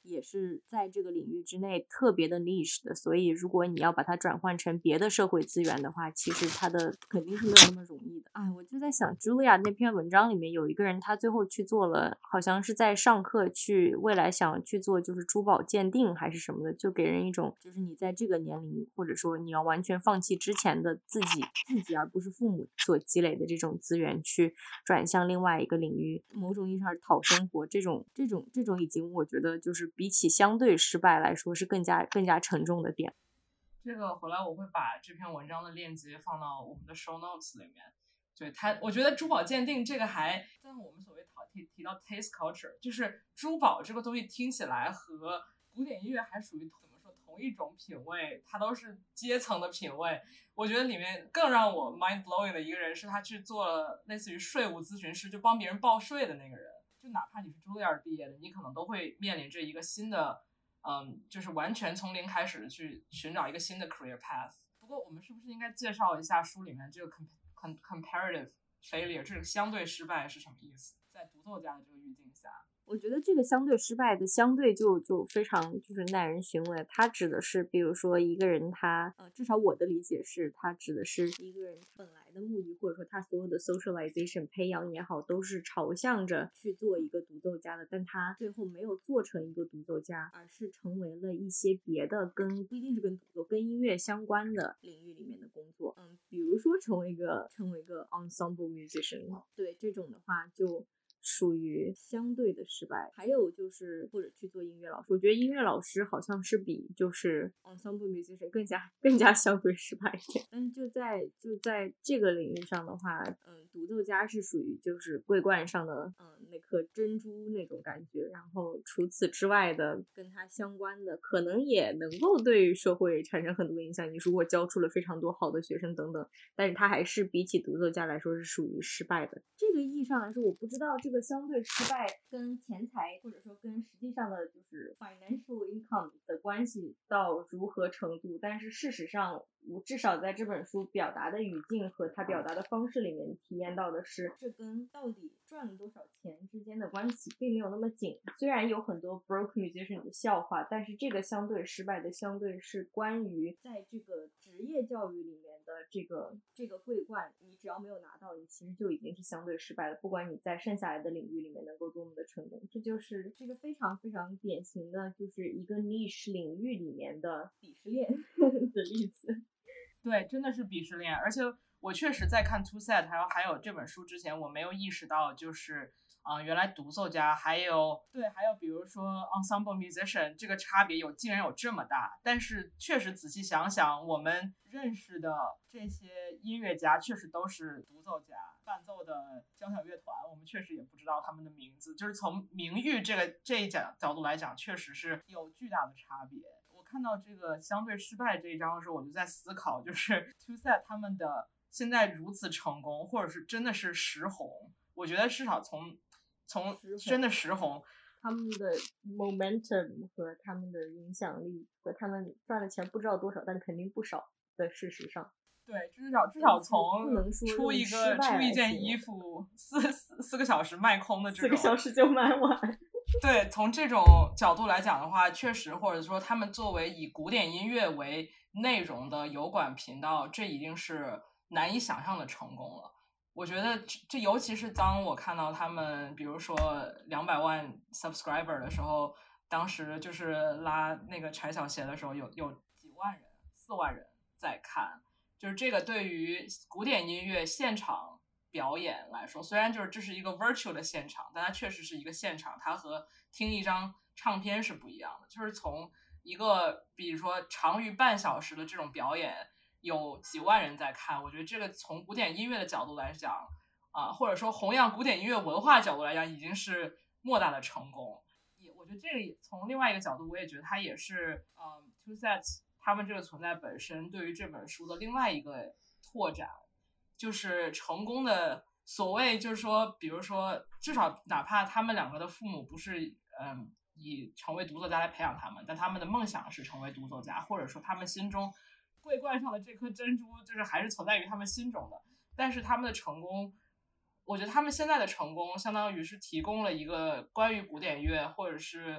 也是在这个领域之内特别的 niche 的，所以如果你要把它转换成别的社会资源的话，其实它的肯定是没有那么容易的。我就在想 Julia 那篇文章里面有一个人，他最后去做了，好像是在上课去未来想去做就是珠宝鉴定还是什么的，就给人一种就是你在这个年龄，或者说你要完全放弃之前的自己而不是父母所积累的这种资源，去转向另外一个领域，某种意义上是讨生活，这种已经我觉得就是比起相对失败来说是更加沉重的点。 这个回来我会把这篇文章的链接放到我们的 show notes 里面。对我觉得珠宝鉴定这个还在我们所谓提到 taste culture， 就是珠宝这个东西听起来和古典音乐还属于怎么说同一种品味，它都是阶层的品味。我觉得里面更让我 mind blowing 的一个人是他去做了类似于税务咨询师，就帮别人报税的那个人。就哪怕你是茱莉亚毕业的，你可能都会面临着一个新的就是完全从零开始去寻找一个新的 career path。 不过我们是不是应该介绍一下书里面这个 comparative failure 这个相对失败是什么意思？在独奏家的这个语境下， 我觉得这个相对失败的相对就非常就是耐人寻味。它指的是比如说一个人他至少我的理解是它指的是一个人本来的目的，或者说他所有的 socialization 培养也好都是朝向着去做一个独奏家的，但他最后没有做成一个独奏家，而是成为了一些别的不一定是跟独奏跟音乐相关的领域里面的工作。比如说成为一个 ensemble musician， 对，这种的话就属于相对的失败。还有就是或者去做音乐老师，我觉得音乐老师好像是比就是 ensemble musician 更加相对失败一点。但是就在这个领域上的话，独奏家是属于就是桂冠上的那颗珍珠那种感觉，然后除此之外的跟它相关的可能也能够对社会产生很多影响，你如果教出了非常多好的学生等等，但是它还是比起独奏家来说是属于失败的。这个意义上来说，我不知道这个相对失败跟钱财或者说跟实际上的就是 financial income 的关系到如何程度，但是事实上我至少在这本书表达的语境和他表达的方式里面体验到的是，这跟到底赚了多少钱之间的关系并没有那么紧。虽然有很多 broke musician 的笑话，但是这个相对失败的相对是关于在这个职业教育里面的这个桂冠，你只要没有拿到，你其实就已经是相对失败了，不管你在剩下来的领域里面能够多么的成功。这就是这个非常非常典型的就是一个 niche 领域里面的鄙视链的例子。 对，真的是鄙视链。而且我确实在看 Two Set 还有这本书之前，我没有意识到就是原来独奏家还有比如说 ensemble musician 这个差别竟然有这么大。但是确实仔细想想，我们认识的这些音乐家确实都是独奏家，伴奏的交响乐团我们确实也不知道他们的名字，就是从名誉这一角度来讲，确实是有巨大的差别。我看到这个相对失败这一章的时候，我就在思考，就是 Two Set 他们的现在如此成功，或者是真的是实红，我觉得至少从真的实红， 他们的 momentum 和他们的影响力和他们赚的钱不知道多少，但肯定不少的事实上。 对，至少从出一件衣服四个小时卖空的这种，4个小时就卖完。 对，从这种角度来讲的话，确实，或者说他们作为以古典音乐为内容的油管频道，这已经是难以想象的成功了。我觉得这尤其是当我看到他们比如说200万 subscriber 的时候，当时就是拉那个柴小鞋的时候，有几万人，4万人在看。就是这个对于古典音乐现场表演来说，虽然就是这是一个 virtual 的现场，但它确实是一个现场，它和听一张唱片是不一样的。就是从一个比如说长于半小时的这种表演，有几万人在看，我觉得这个从古典音乐的角度来讲或者说弘扬古典音乐文化角度来讲，已经是莫大的成功。我觉得这个从另外一个角度，我也觉得它也是Two Sets 他们这个存在本身对于这本书的另外一个拓展，就是成功的所谓就是说，比如说至少哪怕他们两个的父母不是以成为独奏家来培养他们，但他们的梦想是成为独奏家，或者说他们心中桂冠上的这颗珍珠就是还是存在于他们心中的。但是他们的成功，我觉得他们现在的成功相当于是提供了一个关于古典乐或者是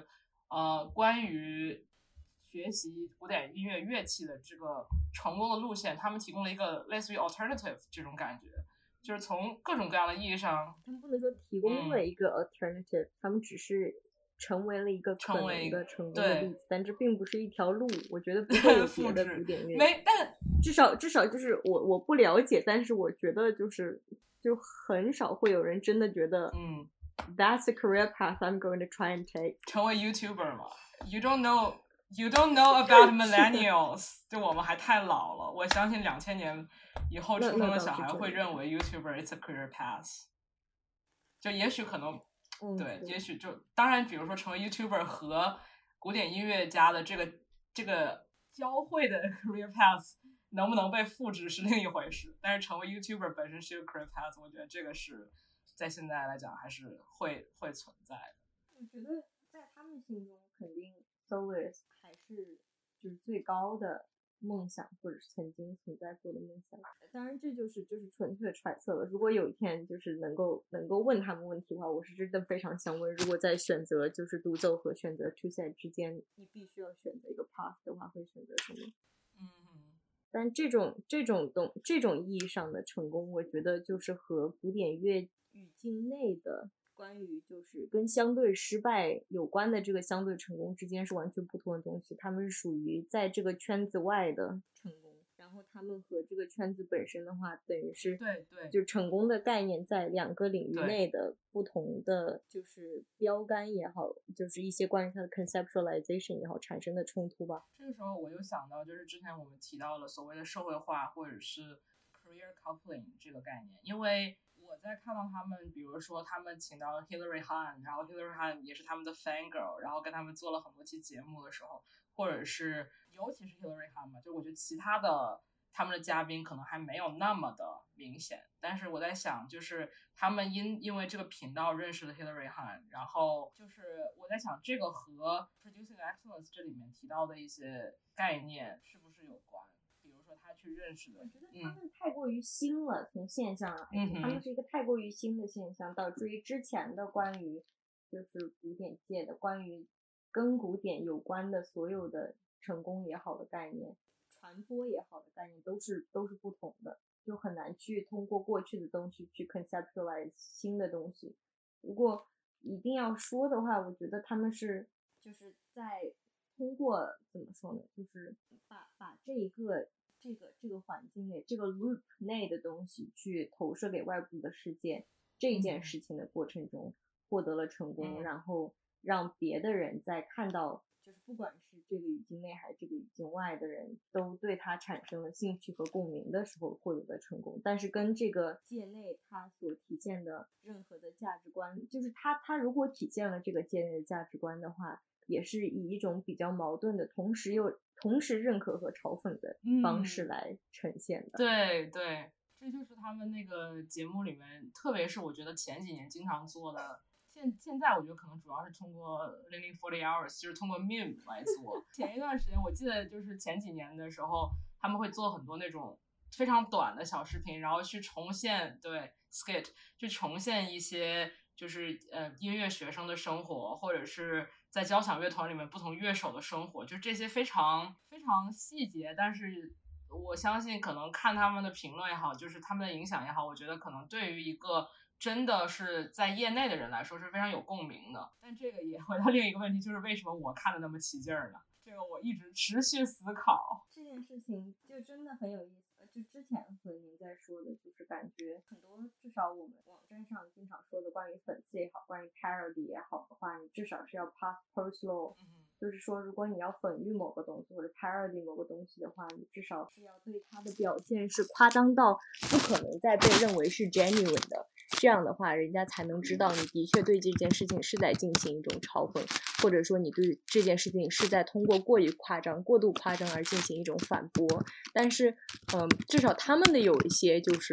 关于学习古典音乐乐器的这个成功的路线，他们提供了一个类似于 alternative 这种感觉，就是从各种各样的意义上， 他们不能说提供了一个 alternative，他们只是成为了一个可能的成功的例子，但这并不是一条路，我觉得不会有别的古典乐没，但至少就是我不了解，但是我觉得就很少会有人真的觉得that's a career path I'm going to try and take， 成为 YouTuber 嘛。You don't know about millennials 就我们还太老了，我相信2000年以后出生的小孩会认为 YouTuber it's a career path， 就也许可能对，也许就当然比如说成为 YouTuber 和古典音乐家的这个交汇的 career path 能不能被复制是另一回事，但是成为 YouTuber 本身是一个 career path， 我觉得这个是在现在来讲还是会存在的。 我觉得在他们心中肯定 soloist 还是就是最高的梦想，或者是曾经存在过的梦想。当然这就是纯粹的揣测了，如果有一天就是能够问他们问题的话，我是真的非常想问，如果在选择就是独奏和选择 two set 之间，你必须要选择一个 path 的话，会选择什么？但这种意义上的成功，我觉得就是和古典乐语境内的关于就是跟相对失败有关的这个相对成功之间是完全不同的东西，他们是属于在这个圈子外的成功，然后他们和这个圈子本身的话，等于是对， 就成功的概念在两个领域内的不同的就是标杆也好，就是一些关于它的 conceptualization 也好产生的冲突吧。 这个时候我又想到，就是之前我们提到了所谓的社会化或者是 career coupling 这个概念，因为我在看到他们，比如说他们请到 Hilary Hahn， 然后 Hilary Hahn 也是他们的 fangirl， 然后跟他们做了很多期节目的时候，或者是尤其是 Hilary Hahn 嘛，就我觉得其他的他们的嘉宾可能还没有那么的明显，但是我在想，就是他们因为这个频道认识了 Hilary Hahn， 然后就是我在想，这个和 Producing Excellence 这里面提到的一些概念是不是有关？比如说他去认识的， 我觉得他们太过于新了，从现象来说，他们是一个太过于新的现象，导致于之前的关于就是古典界的关于跟古典有关的所有的成功也好的概念，传播也好的概念都是不同的，就很难去通过过去的东西去 conceptualize 新的东西。如果一定要说的话，我觉得他们是就是在通过怎么说呢，就是把这个环境内这个 loop 内的东西去投射给外部的世界，这件事情的过程中获得了成功，然后让别的人在看到就是不管是这个语境内还是这个语境外的人都对他产生了兴趣和共鸣的时候获得的成功。但是跟这个界内他所体现的任何的价值观，就是他如果体现了这个界内的价值观的话，也是以一种比较矛盾的同时认可和嘲讽的方式来呈现的。 对，这就是他们那个节目里面，特别是我觉得前几年经常做的，现在我觉得可能主要是通过0040 Hours， 就是通过 meme 来做。前一段时间我记得就是前几年的时候，他们会做很多那种非常短的小视频，然后去重现skit， 去重现一些就是音乐学生的生活，或者是在交响乐团里面不同乐手的生活，就这些非常非常细节，但是我相信可能看他们的评论也好，就是他们的影响也好，我觉得可能对于一个真的是在业内的人来说是非常有共鸣的。但这个也回到另一个问题，就是为什么我看的那么起劲儿呢？这个我一直持续思考。 这件事情就真的很有意思。就之前和您在说的，就是感觉很多，至少我们网站上经常说的关于粉丝也好，关于 parody 也好的话，你至少是要 pass post law，就是说如果你要粉喻某个东西或者 parody 某个东西的话，你至少是要对它的表现是夸张到不可能再被认为是 genuine 的，这样的话人家才能知道你的确对这件事情是在进行一种嘲讽，或者说你对这件事情是在通过过度夸张而进行一种反驳。但是至少他们的有一些就是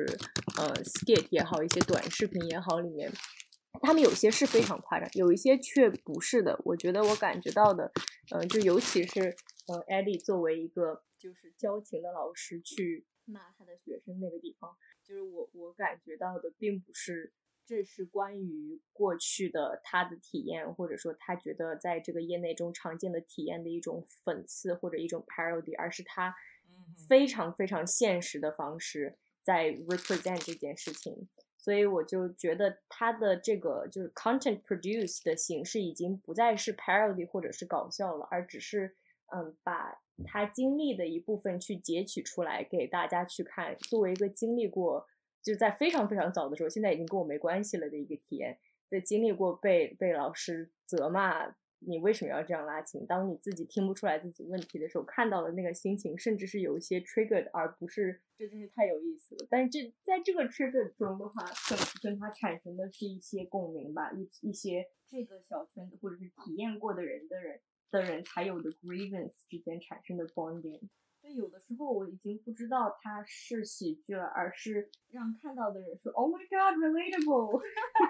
skit 也好，一些短视频也好，里面他们有些是非常夸张，有一些却不是的。我觉得我感觉到的就尤其是Eddie 作为一个就是教琴的老师去骂他的学生那个地方，就是我感觉到的并不是这是关于过去的他的体验，或者说他觉得在这个业内中常见的体验的一种讽刺或者一种 parody， 而是他非常非常现实的方式在 represent 这件事情。所以我就觉得他的这个就是 content produce 的形式已经不再是 parody 或者是搞笑了，而只是把他经历的一部分去截取出来给大家去看，作为一个经历过就在非常非常早的时候，现在已经跟我没关系了的一个体验，在经历过被老师责骂你为什么要这样拉琴，当你自己听不出来自己问题的时候看到的那个心情，甚至是有一些 triggered， 而不是这真是太有意思了。但是在这个 trigger 中的话，跟它产生的是一些共鸣吧，一些这个小圈子或者是体验过的人才有的 grievance 之间产生的 bonding。所以有的时候我已经不知道它是喜剧了，而是让看到的人说 Oh my God relatable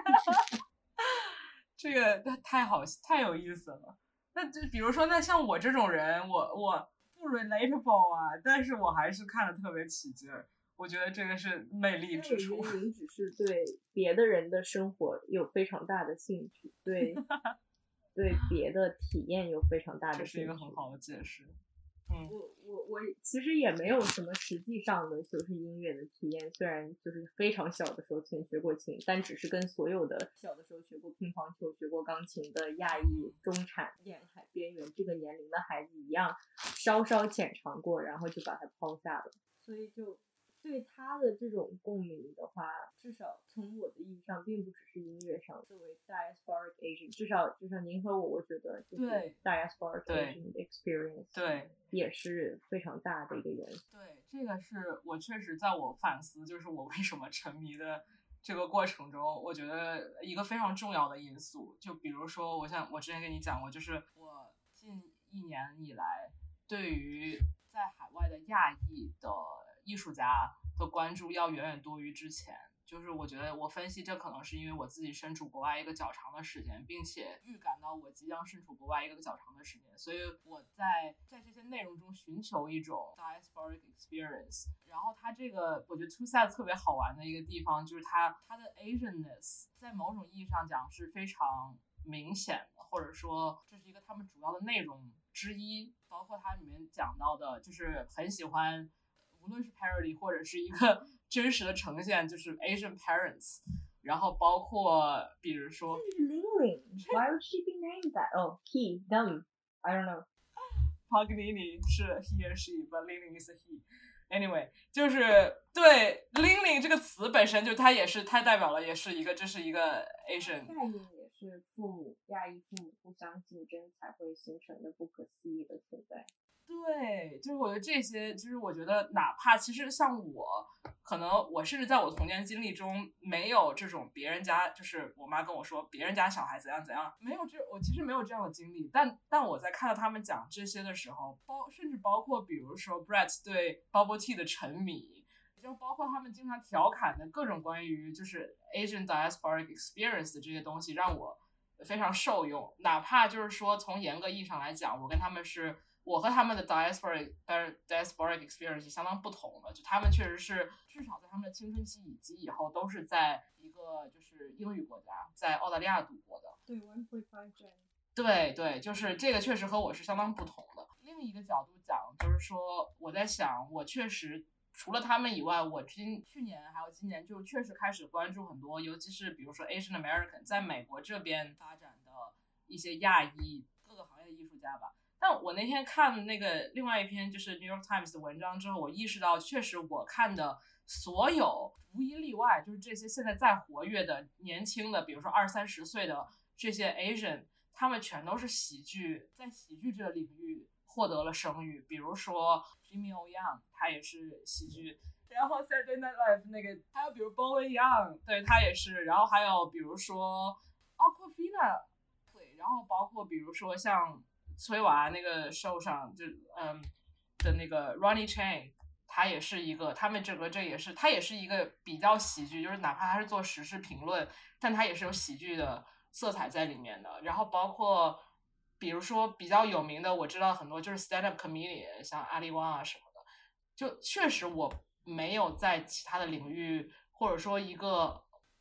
这个太有意思了。那就比如说，那像我这种人，我不 relatable 啊，但是我还是看得特别起劲儿。我觉得这个是魅力之处。 您只是对别的人的生活有非常大的兴趣，对别的体验有非常大的兴趣， 这是一个很好的解释。 我其实也没有什么实际上的就是音乐的体验，虽然就是非常小的时候曾学过琴，但只是跟所有的小的时候学过乒乓球、学过钢琴的亚裔、中产、沿海边缘这个年龄的孩子一样，稍稍浅尝过，然后就把它抛下了。所以就对他的这种共鸣的话，至少从我的意义上，并不只是音乐上。作为 diasporic Asian， 至少您和我觉得就是 diasporic Asian experience， 对， 也是非常大的一个元素。 对，这个是我确实在我反思，就是我为什么沉迷的这个过程中，我觉得一个非常重要的因素，就比如说，我之前跟你讲过，就是我近1年以来对于在海外的亚裔的艺术家的关注要远远多于之前。就是我觉得我分析这可能是因为我自己身处国外一个较长的时间，并且预感到我即将身处国外一个较长的时间，所以我在这些内容中寻求一种 diasporic experience。 然后它这个我觉得 TwoSides 特别好玩的一个地方就是它的 Asianness 在某种意义上讲是非常明显的，或者说这是一个他们主要的内容之一。包括它里面讲到的就是很喜欢无论是 parody 或者是一个真实的呈现，就是 Asian parents， 然后包括比如说 Ling Why would she be named that? Oh, he, them, I don't know. Paganini 是 he and she, but Ling is a he. Anyway， 就是对 Ling 这个词本身就它代表了也是一个，这是一个 Asian。 概念也是亚裔父母互相竞争才会形成的不可思议的存在。 对，就是我觉得这些，就是我觉得哪怕其实像我，可能我甚至在我童年经历中没有这种别人家，就是我妈跟我说别人家小孩怎样怎样，我其实没有这样的经历，但我在看到他们讲这些的时候，甚至包括比如说 Brett 对 Bubble Tea 的沉迷，就包括他们经常调侃的各种关于就是 Asian diasporic experience 的这些东西，让我非常受用。哪怕就是说从严格意义上来讲，我和他们的 diasporic experience 相当不同的，就他们确实是至少在他们的青春期以及以后都是在一个就是英语国家，在澳大利亚度过的。 对 1.5 Gen。 对，就是这个确实和我是相当不同的。另一个角度讲，就是说我在想，我确实除了他们以外，我去年还有今年就确实开始关注很多，尤其是比如说 Asian American 在美国这边发展的一些亚裔各个行业的艺术家吧。但我那天看那个另外一篇就是 New York Times 的文章之后，我意识到确实我看的所有无一例外就是这些现在活跃的年轻的比如说20-30岁的这些 Asian， 他们全都是在喜剧这个领域获得了声誉。比如说 Jimmy O Yang 他也是喜剧，然后 Saturday Night Live 那个还有比如 Bowen Yang 对他也是，然后还有比如说 Awkwafina 对，然后包括比如说像崔娃那个 show 上的那个 Ronnie Chang， 他也是一个，他们整个他也是一个比较喜剧，就是哪怕他是做时事评论，但他也是有喜剧的色彩在里面的。然后包括比如说比较有名的，我知道很多就是 stand up comedian， 像阿里旺啊什么的，就确实我没有在其他的领域或者说一个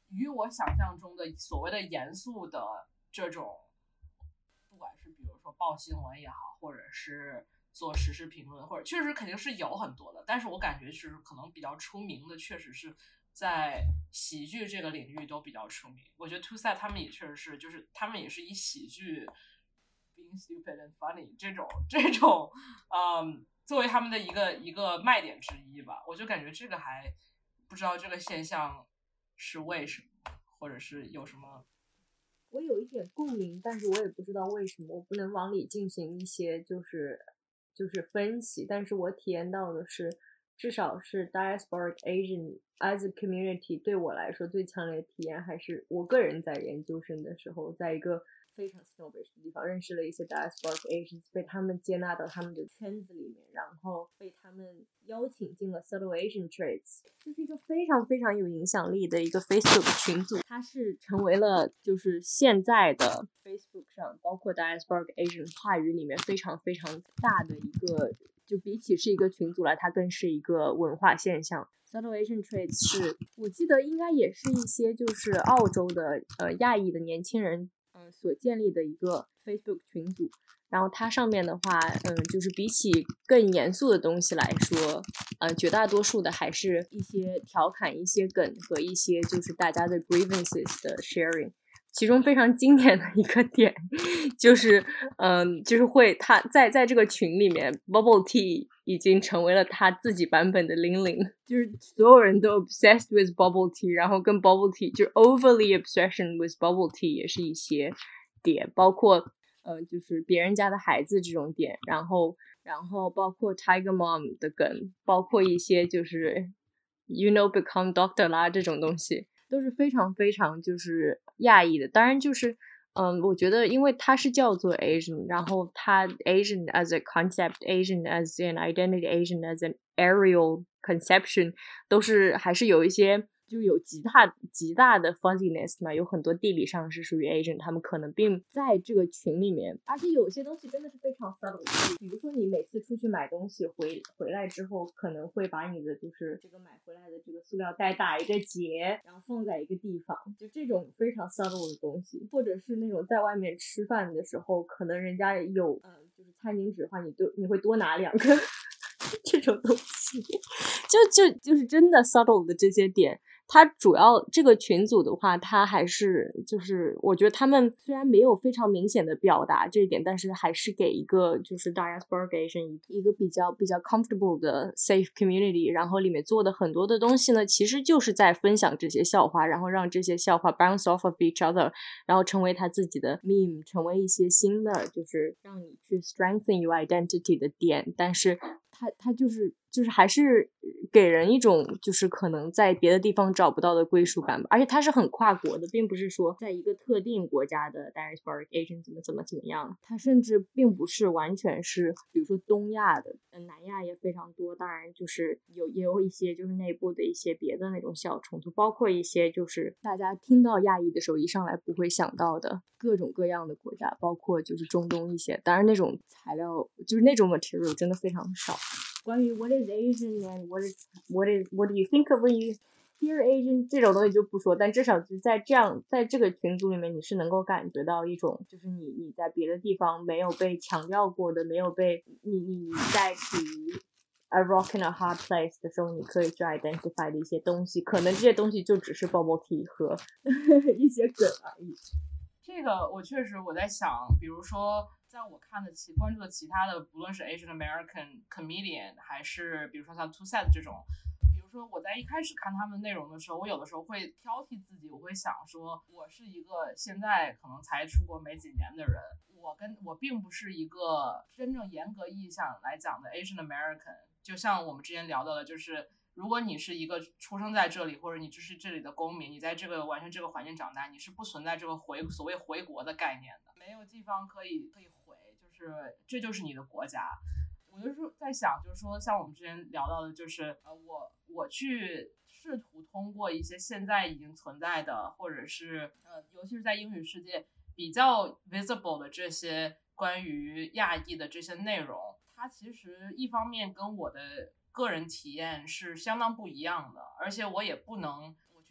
与我想象中的所谓的严肃的这种，不管是比如说报新闻也好，或者是做时事评论，或者确实肯定是有很多的，但是我感觉就是可能比较出名的，确实是在喜剧这个领域都比较出名。我觉得 Two Set 他们也确实是，就是他们也是以喜剧 being stupid and funny 这种作为他们的一个卖点之一吧。我就感觉这个还不知道这个现象是为什么，或者是有什么。 我有一点共鸣，但是我也不知道为什么，我不能往里进行一些就是分析，但是我体验到的是，至少是 Diasporic Asian as a community 对我来说最强烈的体验，还是我个人在研究生的时候，在一个非常 snobbish 的地方认识了一些 Diasporic Asians， 被他们接纳到他们的圈子里面，然后被他们邀请进了 Subtle Asian Traits， 就是一个非常非常有影响力的一个 Facebook 群组，它是成为了就是现在的 Facebook 上包括 Diasporic Asian 话语里面非常非常大的一个，就比起是一个群组来，它更是一个文化现象。Subtle Asian Traits 是我记得应该也是一些就是澳洲的亚裔的年轻人所建立的一个 Facebook 群组，然后它上面的话就是比起更严肃的东西来说绝大多数的还是一些调侃、一些梗和一些就是大家的 grievances 的 sharing。其中非常经典的一个点就是就是会他在这个群里面 Bubble Tea 已经成为了他自己版本的00，就是所有人都 obsessed with Bubble Tea， 然后跟 Bubble Tea 就是 overly obsession with Bubble Tea 也是一些点，包括就是别人家的孩子这种点，然后包括 Tiger Mom 的梗，包括一些就是 you know become doctor 啦这种东西都是非常非常就是亚裔的。当然就是我觉得因为它是叫做 Asian， 然后它 Asian as a concept， Asian as an identity， Asian as an aerial conception 都是还是有一些就有极大的 fuzziness 嘛，有很多地理上是属于 Asian， 他们可能并在这个群里面，而且有些东西真的是非常 subtle， 比如说你每次出去买东西回来之后，可能会把你的就是这个买回来的这个塑料袋打一个结，然后放在一个地方，就这种非常 subtle 的东西，或者是那种在外面吃饭的时候，可能人家有就是餐巾纸的话，你会多拿2个这种东西，就是真的 subtle 的这些点。它主要这个群组的话，它还是就是我觉得他们虽然没有非常明显的表达这一点，但是还是给一个就是 Diasporic Asian 一个比较 comfortable 的 safe community， 然后里面做的很多的东西呢，其实就是在分享这些笑话，然后让这些笑话 bounce off of each other， 然后成为他自己的 meme， 成为一些新的就是让你去 strengthen your identity 的点，但是它就是还是给人一种就是可能在别的地方找不到的归属感吧，而且它是很跨国的，并不是说在一个特定国家的 Diasporic Asian 怎么样，它甚至并不是完全是比如说东亚的，南亚也非常多，当然就是也有一些就是内部的一些别的那种小冲突，包括一些就是大家听到亚裔的时候一上来不会想到的各种各样的国家，包括就是中东一些，当然那种材料就是那种 material 真的非常少。关于 what is Asian and what do you think of when you hear Asian 这种东西就不说，但至少就在这个群组里面，你是能够感觉到一种就是你在别的地方没有被强调过的，没有被你在处于 a rock in a hard place 的时候，你可以去 identify 的一些东西，可能这些东西就只是 bubble tea 和一些梗而已。 这个我确实我在想，比如说在我关注的其他的，不论是 Asian American comedian 还是比如说像 Two Set 这种，比如说我在一开始看他们内容的时候，我有的时候会挑剔自己，我会想说我是一个现在可能才出国没几年的人，我并不是一个真正严格意义上来讲的 Asian American， 就像我们之前聊到的，就是如果你是一个出生在这里，或者你就是这里的公民，你在这个完全这个环境长大，你是不存在这个所谓回国的概念的，没有地方可以回，就是这就是你的国家。我就是在想，就是说像我们之前聊到的，就是我去试图通过一些现在已经存在的，或者是尤其是在英语世界比较 visible 的这些关于亚裔的这些内容，它其实一方面跟我的个人体验是相当不一样的，而且我也不能我去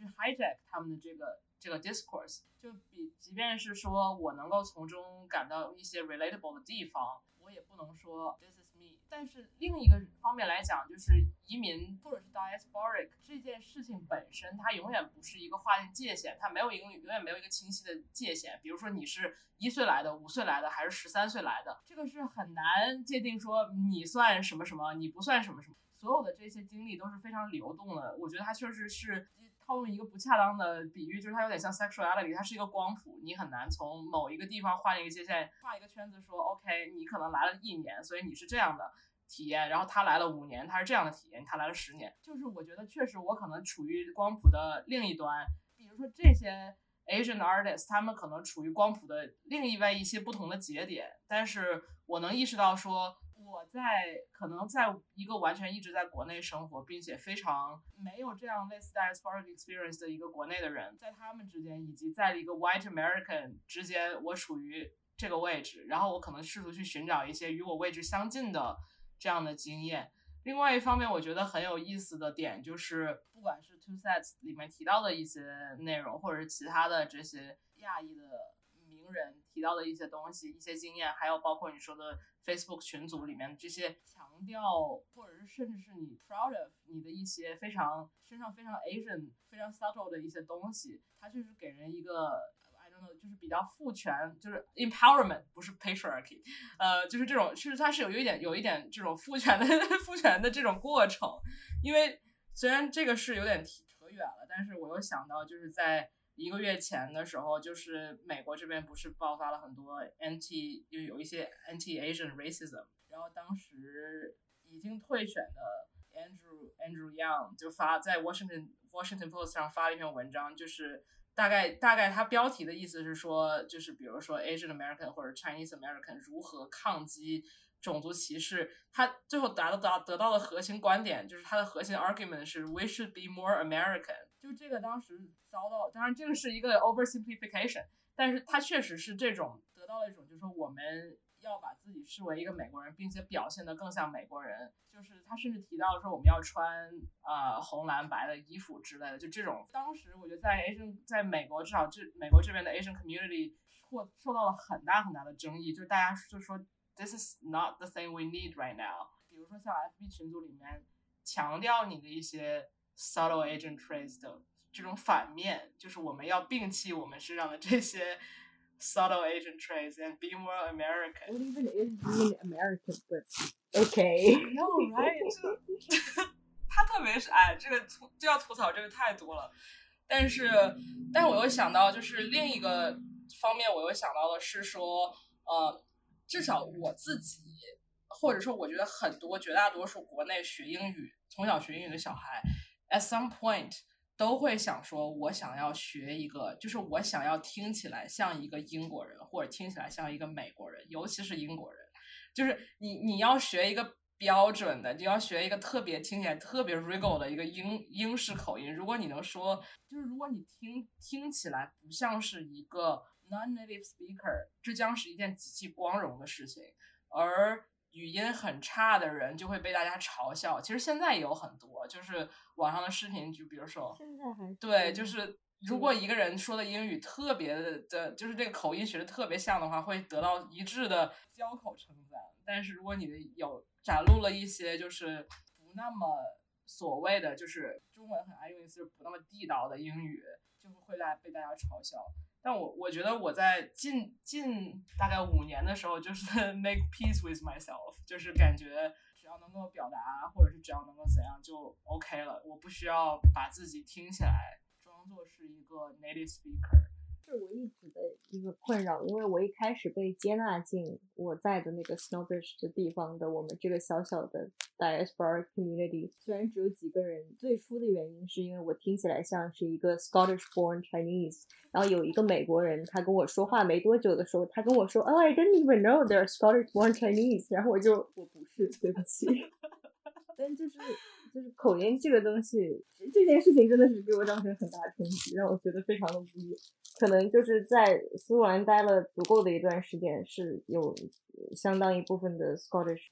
hijack 他们的这个 discourse， 就即便是说我能够从中感到一些 relatable 的地方，我也不能说 this is me。但是另一个方面来讲，就是移民或者是 diasporic 这件事情本身，它永远不是一个划定界限，它永远没有一个清晰的界限。比如说你是1岁来的、5岁来的，还是13岁来的，这个是很难界定说你算什么什么，你不算什么什么。所有的这些经历都是非常流动的。我觉得它确实是套用一个不恰当的比喻，就是它有点像 sexuality， 它是一个光谱，你很难从某一个地方画一个界限，画一个圈子说 OK， 你可能来了1年，所以你是这样的体验，然后他来了5年，他是这样的体验，他来了10年。就是我觉得确实我可能处于光谱的另一端，比如说这些 Asian artists 他们可能处于光谱的另外一些不同的节点，但是我能意识到说我可能在一个完全一直在国内生活，并且非常没有这样类似 diasporic experience 的一个国内的人，在他们之间以及在一个 white American 之间，我处于这个位置，然后我可能试图去寻找一些与我位置相近的这样的经验。另外一方面，我觉得很有意思的点就是，不管是 Two Sets 里面提到的一些内容，或者是其他的这些亚裔的名人提到的一些东西、一些经验，还有包括你说的 Facebook 群组里面这些强调，或者是甚至是你 proud of 你的一些身上非常 Asian、非常 subtle 的一些东西，它就是给人一个就是比较父权，就是 empowerment， 不是 patriarchy， 就是这种，其实它是有一点这种父权的这种过程。因为虽然这个是有点扯远了，但是我又想到，就是在1个月前的时候，就是美国这边不是爆发了很多就有一些 anti-Asian racism， 然后当时已经退选的 Andrew Yang 就在 Washington Post 上发了一篇文章，就是大概他标题的意思是说，就是比如说 Asian American 或者 Chinese American 如何抗击种族歧视，他最后得到的核心观点，就是他的核心 argument 是 we should be more American。 就这个当时遭到，当然这个是一个 oversimplification， 但是他确实是这种得到了一种，就是说我们要把自己视为一个美国人，并且表现得更像美国人。就是他甚至提到说我们要穿红蓝白的衣服之类的，就这种。当时我觉得在美国，至少美国这边的 Asian community 受到了很大很大的争议，就是大家就说 this is not the thing we need right now。 比如说像 FB 群组里面强调你的一些 subtle Asian traits 的这种反面，就是我们要摒弃我们身上的这些subtle Asian traits and be more American. What even is being American? But okay. No, right? 他特别是这个就要吐槽这个太多了。但是我又想到，就是另一个方面，我又想到的是说，至少我自己，或者说我觉得绝大多数国内从小学英语的小孩 ，at some point 都会想说，我想要学一个，就是我想要听起来像一个英国人，或者听起来像一个美国人，尤其是英国人。就是你要学一个标准的，你要学一个听起来特别 regal 的一个英式口音。如果你能说，就是如果你听起来不像是一个 non-native speaker， 这将是一件极其光荣的事情。而语音很差的人就会被大家嘲笑。其实现在也有很多，就是网上的视频，就比如说， 现在还对，就是如果一个人说的英语特别的，就是这个口音学的特别像的话，会得到一致的交口称赞。但是如果你展露了一些就是不那么所谓的，就是中文很爱用一次不那么地道的英语，就会被大家嘲笑。但我觉得我在近大概5年的时候，就是 make peace with myself， 就是感觉只要能够表达，或者是只要能够怎样就 OK 了，我不需要把自己听起来装作是一个 native speaker。 是我一直的一个困扰，因为我一开始被接纳进我在的那个 Snowbridge 的地方的我们这个小小的 diaspora community， 虽然只有几个人，最初的原因是因为我听起来像是一个 Scottish born Chinese， 然后有一个美国人他跟我说话没多久的时候，他跟我说I didn't even know they're Scottish born Chinese， 然后我不是，对不起。但就是口音这个东西，这件事情真的是给我造成很大的冲击，让我觉得非常的无语。可能就是在苏格兰待了足够的一段时间，是有相当一部分的 Scottish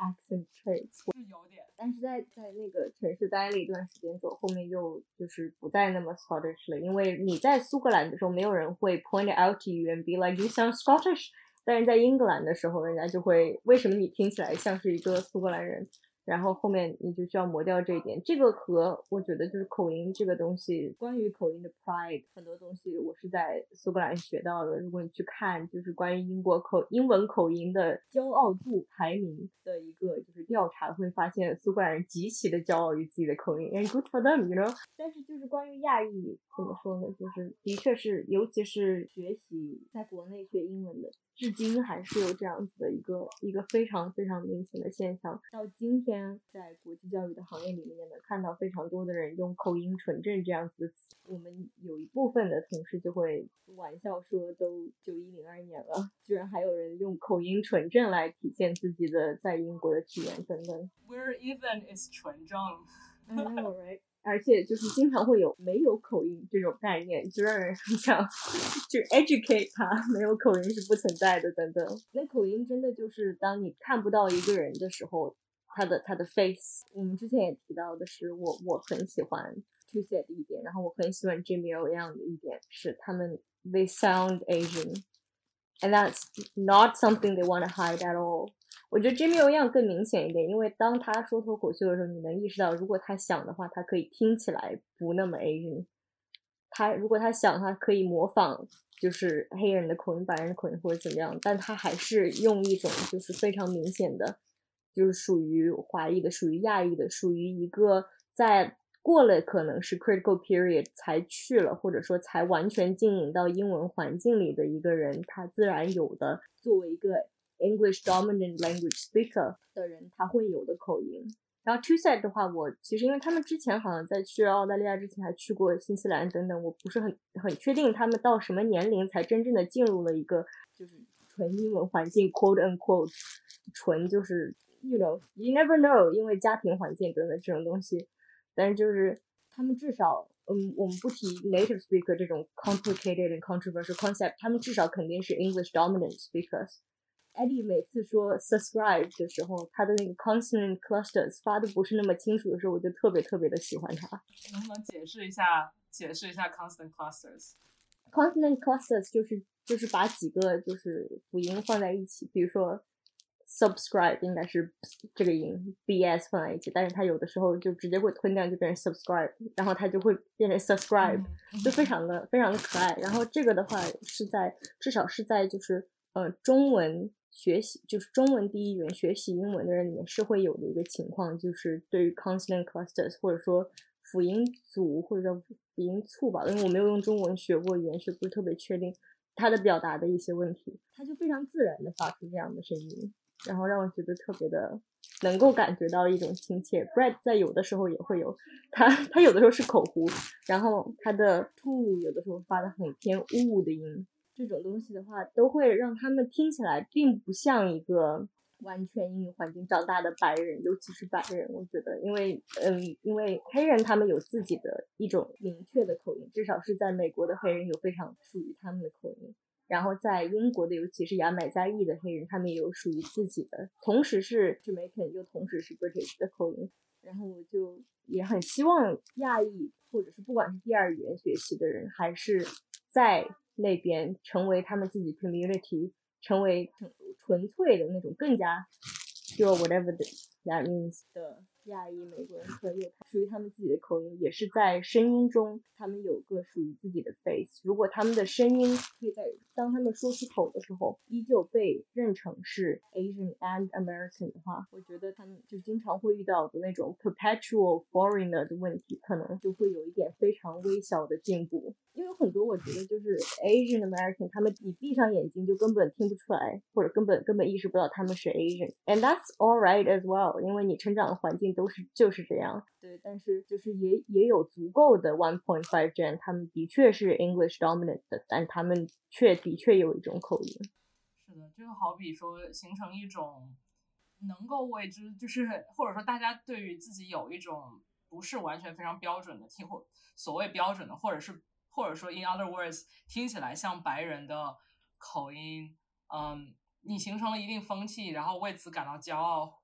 accent traits， 是有点。 但是在那个城市待了一段时间之后，后面又就是不再那么 Scottish 了，因为你在苏格兰的时候，没有人会 point it out to you and be like you sound Scottish， 但是在英格兰的时候，人家就会为什么你听起来像是一个苏格兰人？然后后面你就需要磨掉这一点，这个和我觉得就是口音这个东西，关于口音的 pride 很多东西我是在苏格兰学到的。如果你去看就是关于英文口音的骄傲度排名的一个就是调查，会发现苏格兰人极其的骄傲于自己的口音 and good for them you know。 但是就是关于亚裔怎么说呢，就是的确是尤其是学习在国内学英文的，至今还是有这样子的一个非常非常明显的现象。到今天在国际教育的行业里面能看到非常多的人用口音纯正这样子的词，我们有一部分的同事就会玩笑说都9102年了，居然还有人用口音纯正来体现自己的在英国的体验等等。 Where even is 纯正 I know, right？而且就是经常会有没有口音这种概念，就让人很想去 educate 他，没有口音是不存在的等等。那口音真的就是当你看不到一个人的时候，他的 face。 我们之前也提到的是我很喜欢 Tuesday 的一点，然后我很喜欢 Jimmy O Yang 的一点是他们 they sound Asian and that's not something they want to hide at all。我觉得 Jimmy O Yang 更明显一点，因为当他说脱口秀的时候，你能意识到，如果他想的话，他可以听起来不那么 Asian。如果他想，他可以模仿就是黑人的口音、白人的口音或者怎么样，但他还是用一种就是非常明显的，就是属于华裔的、属于亚裔的、属于一个在过了可能是 critical period 才去了，或者说才完全浸淫到英文环境里的一个人，他自然有的作为一个English dominant language speaker 的人他会有的口音。然后 Tuesday 的话，我其实因为他们之前好像在去澳大利亚之前还去过新西兰等等，我不是很确定他们到什么年龄才真正的进入了一个就是纯英文环境 quote unquote 纯就是 you know you never know 因为家庭环境等等这种东西，但是就是他们至少我们不提 native speaker 这种 complicated and controversial concept， 他们至少肯定是 English dominant speakers。Eddie 每次说 subscribe 的时候，他的那个 consonant clusters 发的不是那么清楚的时候，我就特别特别的喜欢他。 能不能解释一下 consonant clusters？ consonant clusters 就是把几个就是辅音放在一起，比如说 subscribe 应该是这个音 bs 放在一起，但是它有的时候就直接会吞掉，就变成 subscribe， 然后它就会变成 subscribe，就非常的可爱。然后这个的话是在至少是在就是中文学习，就是中文第一语言学习英文的人里面是会有的一个情况，就是对于 consonant clusters 或者说辅音组或者叫辅音簇吧，因为我没有用中文学过语言学，不是特别确定它的表达的一些问题，它就非常自然的发出这样的声音，然后让我觉得特别的能够感觉到一种亲切。 Brad 在有的时候也会有他有的时候是口胡，然后他的 to 有的时候发的很偏的音，这种东西的话都会让他们听起来并不像一个完全英语环境长大的白人，尤其是白人。我觉得因为黑人他们有自己的一种明确的口音，至少是在美国的黑人有非常属于他们的口音，然后在英国的尤其是牙买加裔的黑人，他们也有属于自己的，同时是 Jamaican 又同时是 British 的口音。然后我就也很希望亚裔或者是不管是第二语言学习的人，还是在那边成为他们自己 community， 成为纯粹的那种更加 pure whatever that means 的亚裔美国人，可以有属于他们自己的口音，也是在声音中他们有个属于自己的 face。 如果他们的声音可以在当他们说出口的时候依旧被认成是 Asian and American 的话，我觉得他们就经常会遇到的那种 perpetual foreigner 的问题可能就会有一点非常微小的进步。因为有很多我觉得就是 Asian American 他们你闭上眼睛就根本听不出来，或者根本意识不到他们是 Asian， and that's alright as well， 因为你成长的环境就是这样。对，但是就是也有足够的 1.5 gen 他们的确是 English dominant 的，但他们的确有一种口音。 是的，就好比说形成一种能够为之就是或者说大家对于自己有一种不是完全非常标准的或所谓标准的，或者说 in other words 听起来像白人的口音，你形成了一定风气，然后为此感到骄傲，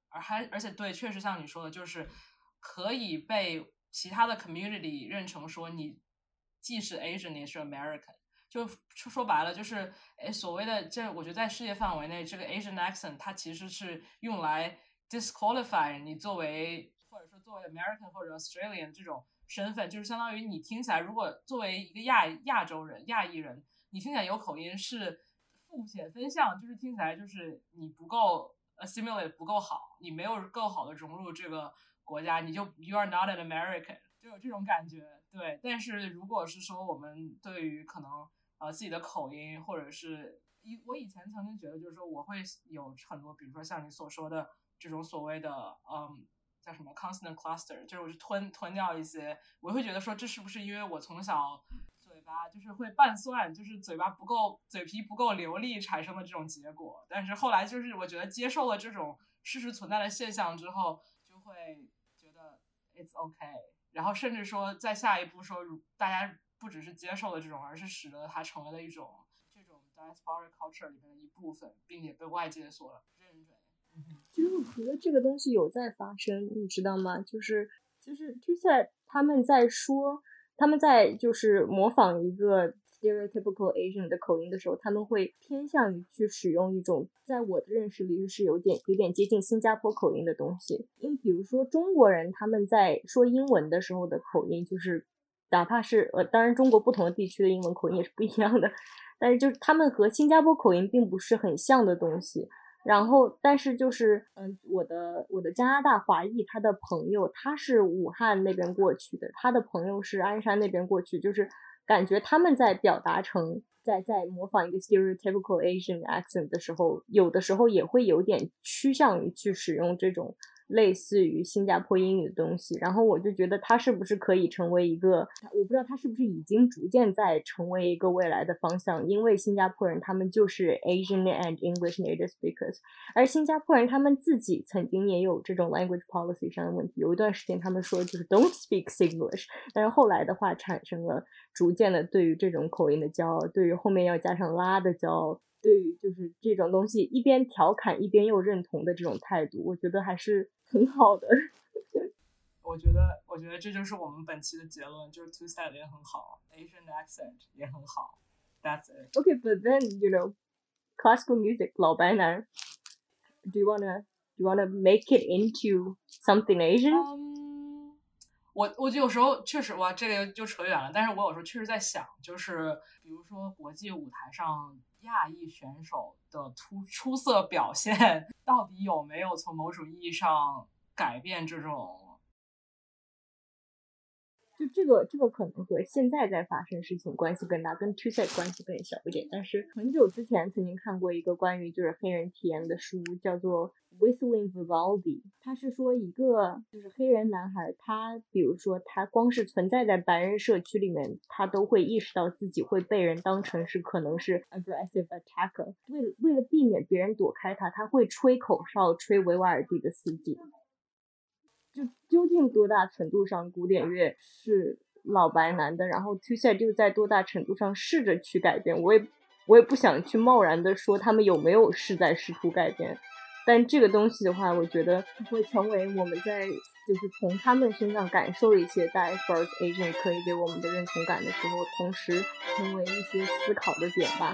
而且对，确实像你说的，就是可以被其他的 community 认成说你既是 Asian 也是 American。就说白了，就是所谓的这，我觉得在世界范围内，这个 Asian accent 它其实是用来 disqualify 你作为或者说作为 American 或者 Australian 这种身份，就是相当于你听起来，如果作为一个亚洲人、亚裔人，你听起来有口音是负显分项，就是听起来就是你不够 assimilate 不够好，你没有够好的融入这个国家，你就 you are not an American， 就有这种感觉。对，但是如果是说我们对于可能自己的口音，或者是我以前曾经觉得就是说我会有很多，比如说像你所说的这种所谓的叫什么 consonant cluster， 就是我是吞掉一些，我会觉得说这是不是因为我从小嘴巴就是会拌蒜，就是嘴皮不够流利产生的这种结果。但是后来就是我觉得接受了这种事实存在的现象之后，就会觉得 it's okay， 然后甚至说在下一步说大家不只是接受了这种，而是使得它成为了这种 diaspora culture 里面的一部分，并且被外界所认准。 其实我觉得这个东西有在发生，你知道吗？就是他们在就是模仿一个 stereotypical Asian 的口音的时候，他们会偏向于去使用一种在我的认识里是有点接近新加坡口音的东西。因为比如说中国人他们在说英文的时候的口音，就是哪怕是当然中国不同的地区的英文口音也是不一样的，但是就是他们和新加坡口音并不是很像的东西。然后但是就是我的加拿大华裔他的朋友，他是武汉那边过去的，他的朋友是鞍山那边过去，就是感觉他们在表达成在模仿一个 stereotypical Asian accent 的时候，有的时候也会有点趋向于去使用这种类似于新加坡英语的东西。然后我就觉得它是不是可以成为一个，我不知道它是不是已经逐渐在成为一个未来的方向，因为新加坡人他们就是 Asian and English native speakers， 而新加坡人他们自己曾经也有这种 language policy 上的问题，有一段时间他们说就是 don't speak Singlish， 但是后来的话产生了逐渐的对于这种口音的骄傲，对于后面要加上拉的骄傲，对于就是这种东西一边调侃一边又认同的这种态度，我觉得还是很好的。 我觉得这就是我们本期的结论，就是 Two Set 也很好， Asian accent 也很好。 That's it. Okay, but then classical music 老白男 do you wanna make it into something Asian？ 我有时候确实哇，这个就扯远了。但是我有时候确实在想，就是比如说国际舞台上亚裔选手的出色表现，到底有没有从某种意义上改变这种？ 就这个可能和现在在发生事情关系更大，跟 Two Set 关系更小一点。但是很久之前曾经看过一个关于就是黑人体验的书，叫做 Whistling Vivaldi。他是说一个就是黑人男孩，他比如说他光是存在在白人社区里面，他都会意识到自己会被人当成是可能是 aggressive attacker。为了避免别人躲开他，他会吹口哨，吹维瓦尔第的四季。就究竟多大程度上古典乐是老白男的，然后 Two Set 就在多大程度上试着去改变，我也不想去贸然的说他们有没有是在试图改变，但这个东西的话，我觉得会成为我们在就是从他们身上感受一些diaspora Asian 可以给我们的认同感的时候，同时成为一些思考的点吧。